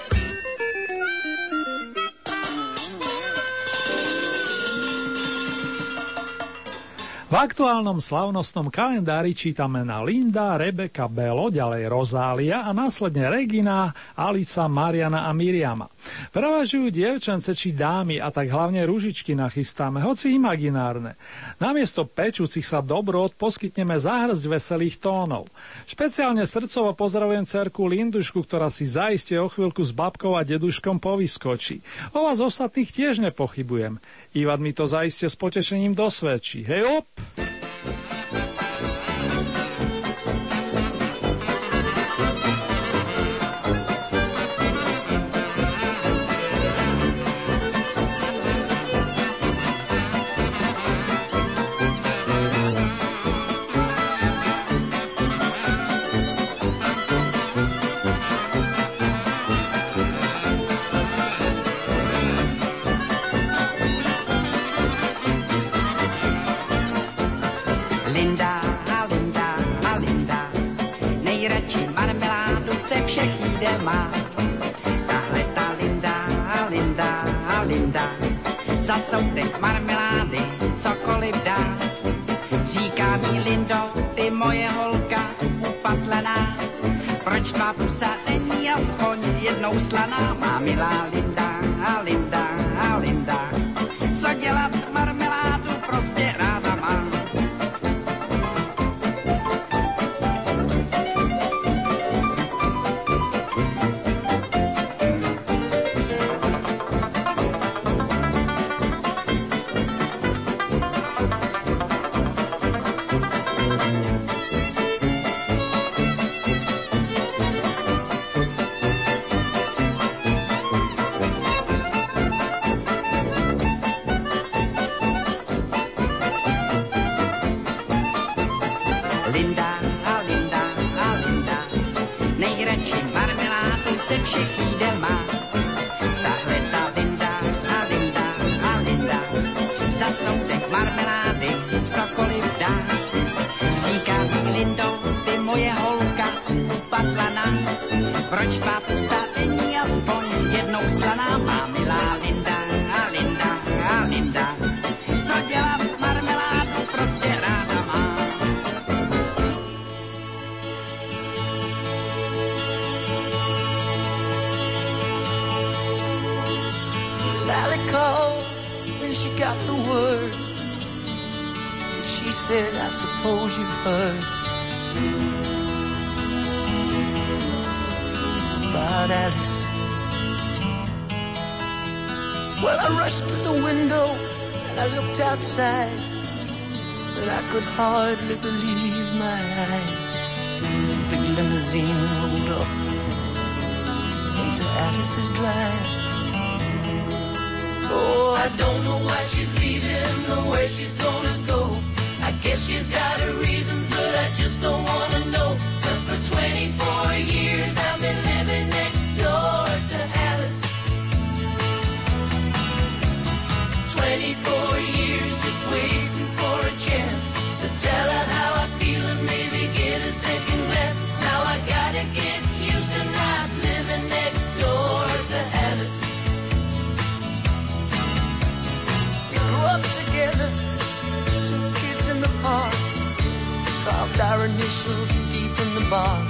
V aktuálnom slavnostnom kalendári čítame na Linda, Rebeka, Belo, ďalej Rozália a následne Regina, Alica, Mariana a Miriama. Prevažujú dievčence či dámy a tak hlavne ružičky nachystáme, hoci imaginárne. Namiesto pečúcich sa dobrot poskytneme záhrsť veselých tónov. Špeciálne srdcovo pozdravujem dcerku Lindušku, ktorá si zaiste o chvíľku s babkou a deduškom povyskočí. O vás ostatných tiež nepochybujem. Ivan mi to zaiste s potešením dosvedčí. Hej op! Linda, Linda, Linda, nejradši marmeládu se všech jídel má. Tahle ta Linda, Linda, Linda, za soudek marmelády cokoliv dá. Říká mi Lindo, ty moje holka upatlená, proč tvá pusa není aspoň jednou slaná? Má milá Linda, Linda, Linda, co dělat marmeládu prostě ráda má. Proč tvá pusa není aspoň jednou slaná? Má milá Linda, Linda, Linda, co dělat marmeládu prostě ráda má. Sally called when she got the word. She said, I suppose you've heard about Alice. Well, I rushed to the window and I looked outside, but I could hardly believe my eyes. This big limousine rolled up into Alice's drive. Oh, I don't know why she's leaving or where she's gonna go. I guess she's got her reasons, but I just don't wanna know. Cause for twenty-four years I've been living next door to Alice. twenty-four years just waiting for a chance to tell her how I feel and maybe get a second glance. Now I gotta get used to not living next door to Alice. We grew up together, two kids in the park, carved our initials deep in the bark.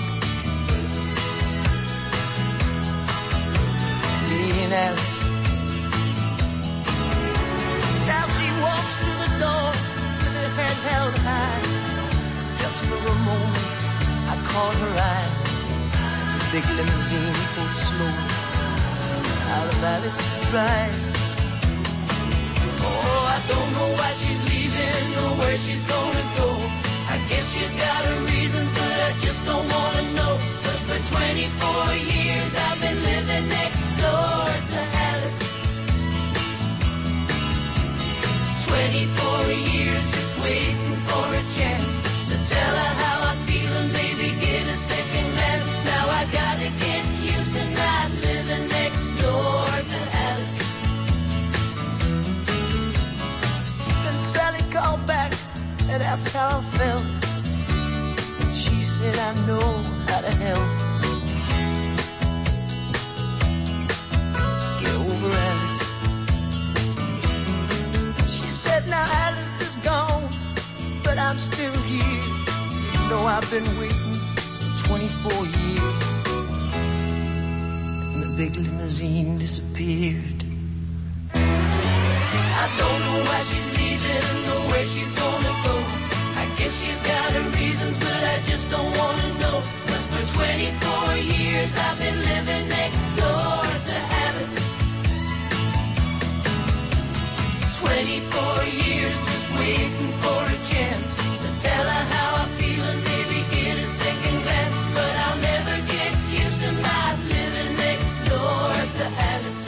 Me and Alice. Now she walks through the door with her head held high. Just for a moment I caught her eye as the big limousine pulled slowly out of Alice's drive. Oh, I don't know why she's leaving or where she's gonna go. I guess she's got her reasons, but I just don't wanna know. Cause for twenty-four years I've been living next door to Alice. twenty-four years just waiting for a chance to tell her how I feel and maybe get a second glance. Now I gotta get used to not living next door to Alice. Then Sally called back and asked how I felt. And she said, I know how to help. Get over Alice. She said, now Alice is gone, but I'm still here. You know I've been waiting twenty-four years. And the big limousine disappeared. I don't know why she's leaving or where she's gonna go. I guess she's got her reasons, but I just don't wanna know. Cause for twenty-four years I've been living next door to Alice. twenty-four years just waiting for a chance to tell her how I feel and maybe get a second glance. But I'll never get used to not living next door to Alice.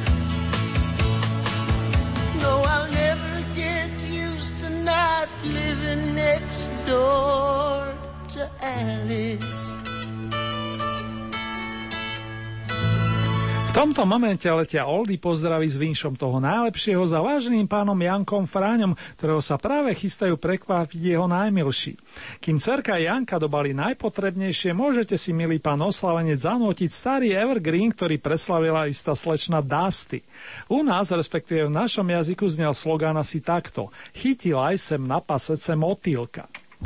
No, I'll never get used to not living next door to Alice. V tomto momente letia Oldy pozdraví s vinšom toho najlepšieho za váženým pánom Jankom Fráňom, ktorého sa práve chystajú prekvapiť jeho najmilší. Kým cerka Janka dobali najpotrebnejšie, môžete si, milý pán oslavenec, zanútiť starý evergreen, ktorý preslavila istá slečna Dusty. U nás, respektíve v našom jazyku, znel slogán asi takto: Chytila aj sem na pasece motýlka.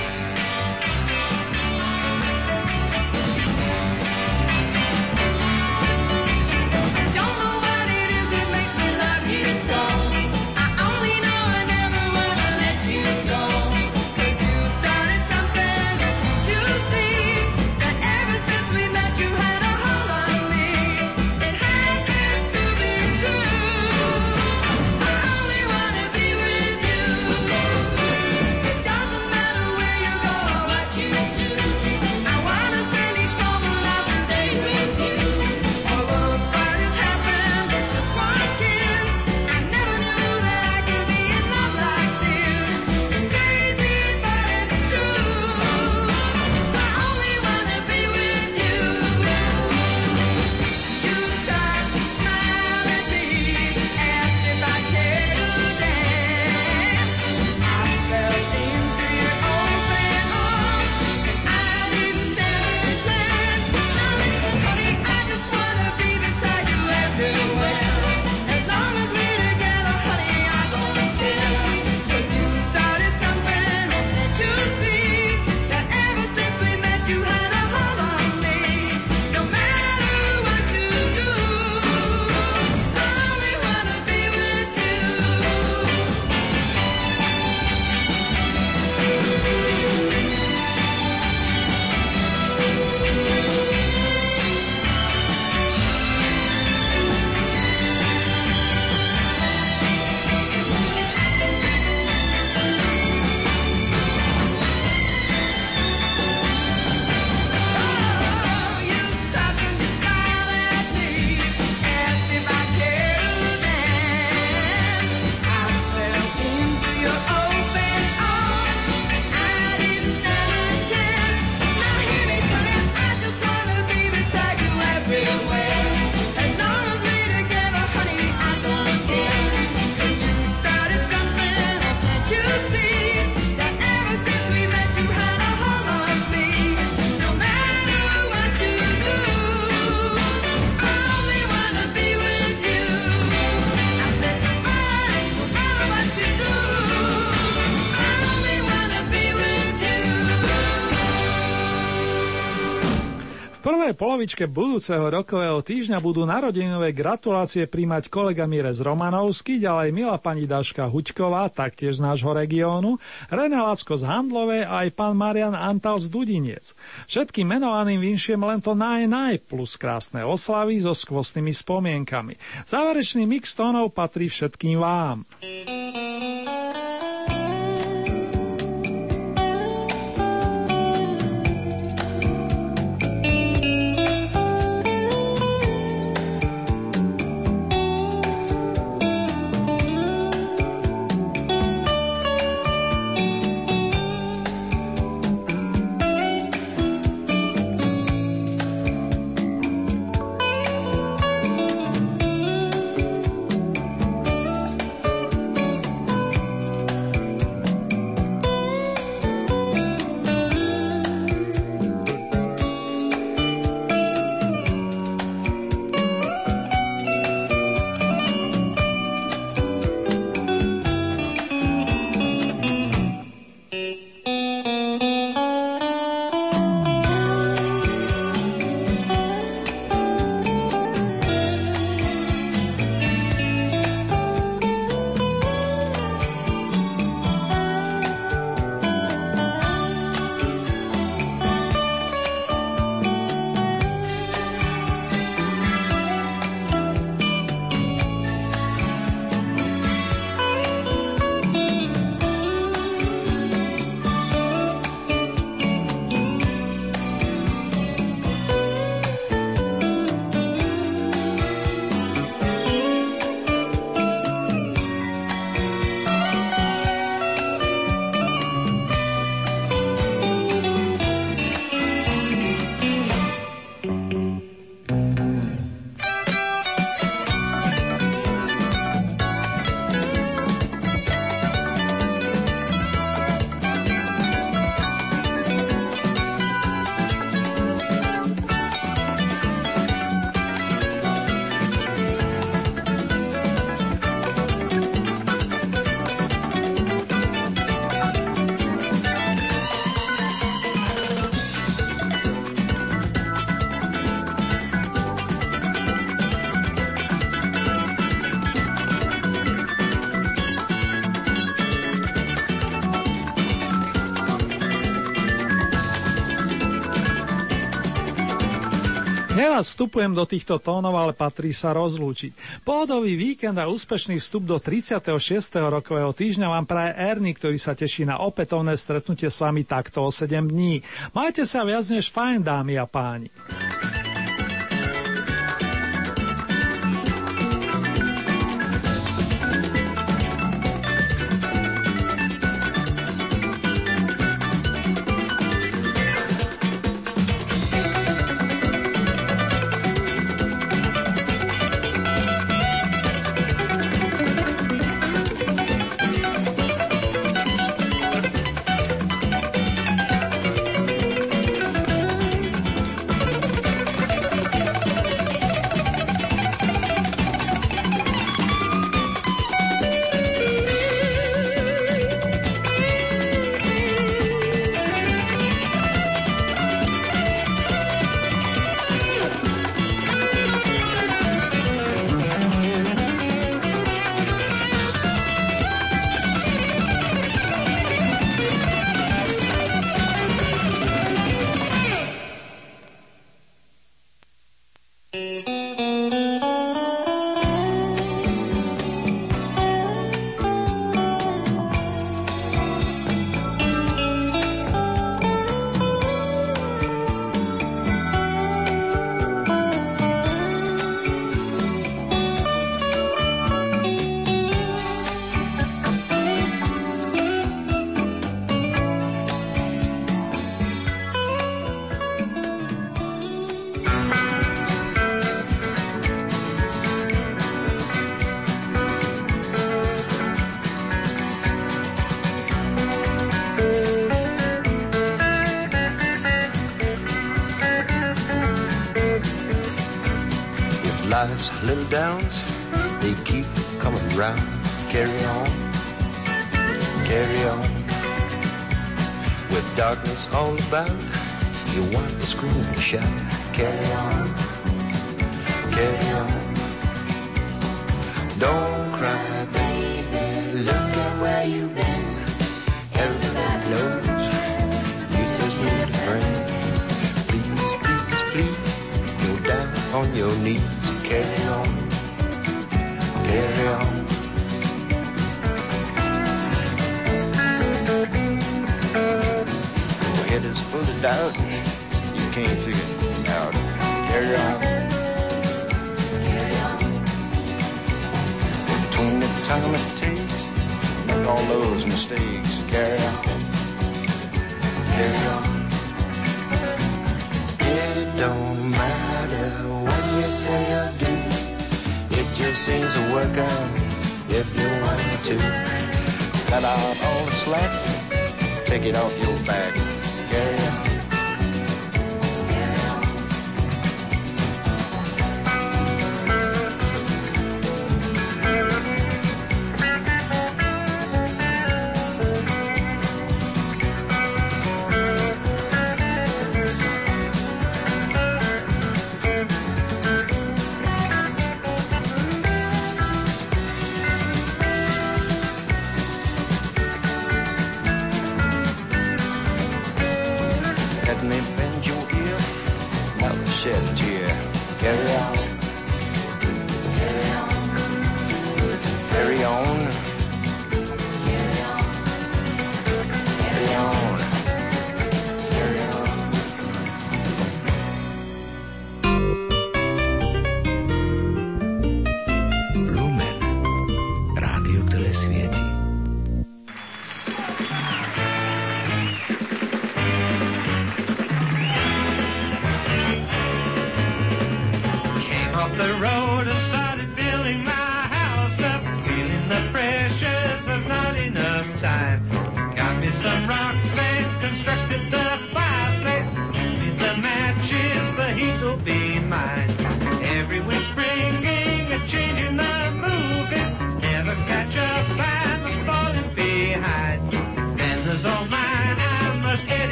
V prvej polovičke budúceho rokového týždňa budú narodeninové gratulácie príjmať kolega Mirez Romanovský, ďalej milá pani Daška Huďková, taktiež z nášho regiónu, René Lacko z Handlovej a aj pán Marian Antal z Dudiniec. Všetkým menovaným vinšiem len to naj naj plus krásne oslavy so skvostnými spomienkami. Záverečný mix tónov patrí všetkým vám. Thank Neraz vstupujem do týchto tónov, ale patrí sa rozlúčiť. Pohodový víkend a úspešný vstup do tridsiateho šiesteho rokového týždňa vám praje Ernie, ktorý sa teší na opätovné stretnutie s vami takto o sedem dní. Majte sa viac než fajn, dámy a páni. Life's little downs, they keep coming round. Carry on, carry on. With darkness all about, you want to scream and shout. Carry on, carry on. Don't cry, baby, look at where you've been. Everybody knows you just need a friend. Please, please, please, go down on your knees. Carry on, carry on. Your head is full of doubt, you can't figure it out. Carry on, carry on. Between the time it takes, make all those mistakes. Carry on, carry on. It don't matter what you say or do, it just seems to work out if you want to. Cut out all the slack, take it off your back. Carry on.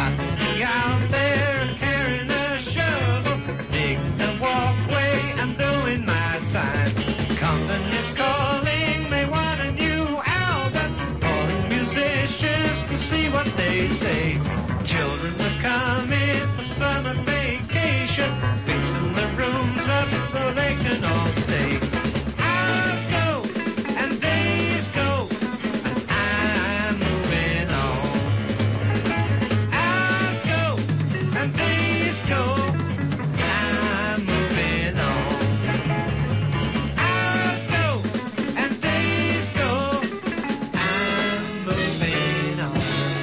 got to be out there carrying a shovel, digging the walkway and doing my time. Company's calling, they want a new album, calling musicians to see what they say. Children are coming for summer vacation, fixing the rooms up so they can all stay. Hours go and days go, and I'm moving on. Hours go and days go, I'm moving on. Hours go and days go, I'm moving on.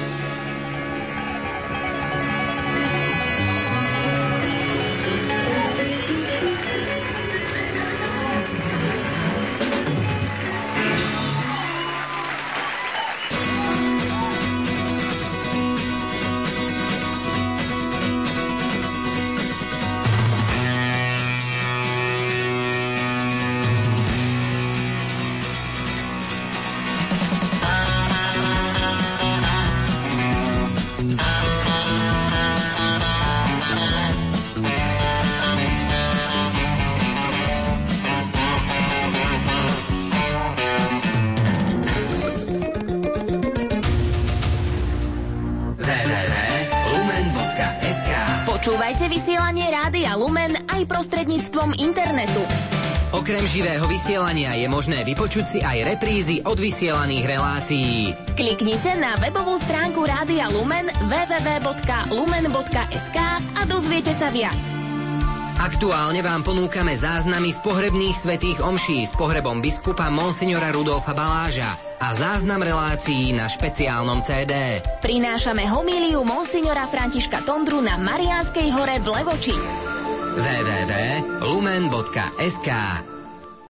w w w bodka lumen bodka es ká. Počúvajte vysielanie Rádia Lumen aj prostredníctvom internetu. Okrem živého vysielania je možné vypočuť si aj reprízy od vysielaných relácií. Kliknite na webovú stránku Rádia Lumen w w w bodka lumen bodka es ká a dozviete sa viac. Aktuálne vám ponúkame záznamy z pohrebných svätých omší s pohrebom biskupa monsignora Rudolfa Baláža a záznam relácií na špeciálnom cé dé. Prinášame homíliu monsignora Františka Tondru na Mariánskej hore v Levoči. w w w bodka lumen bodka es ká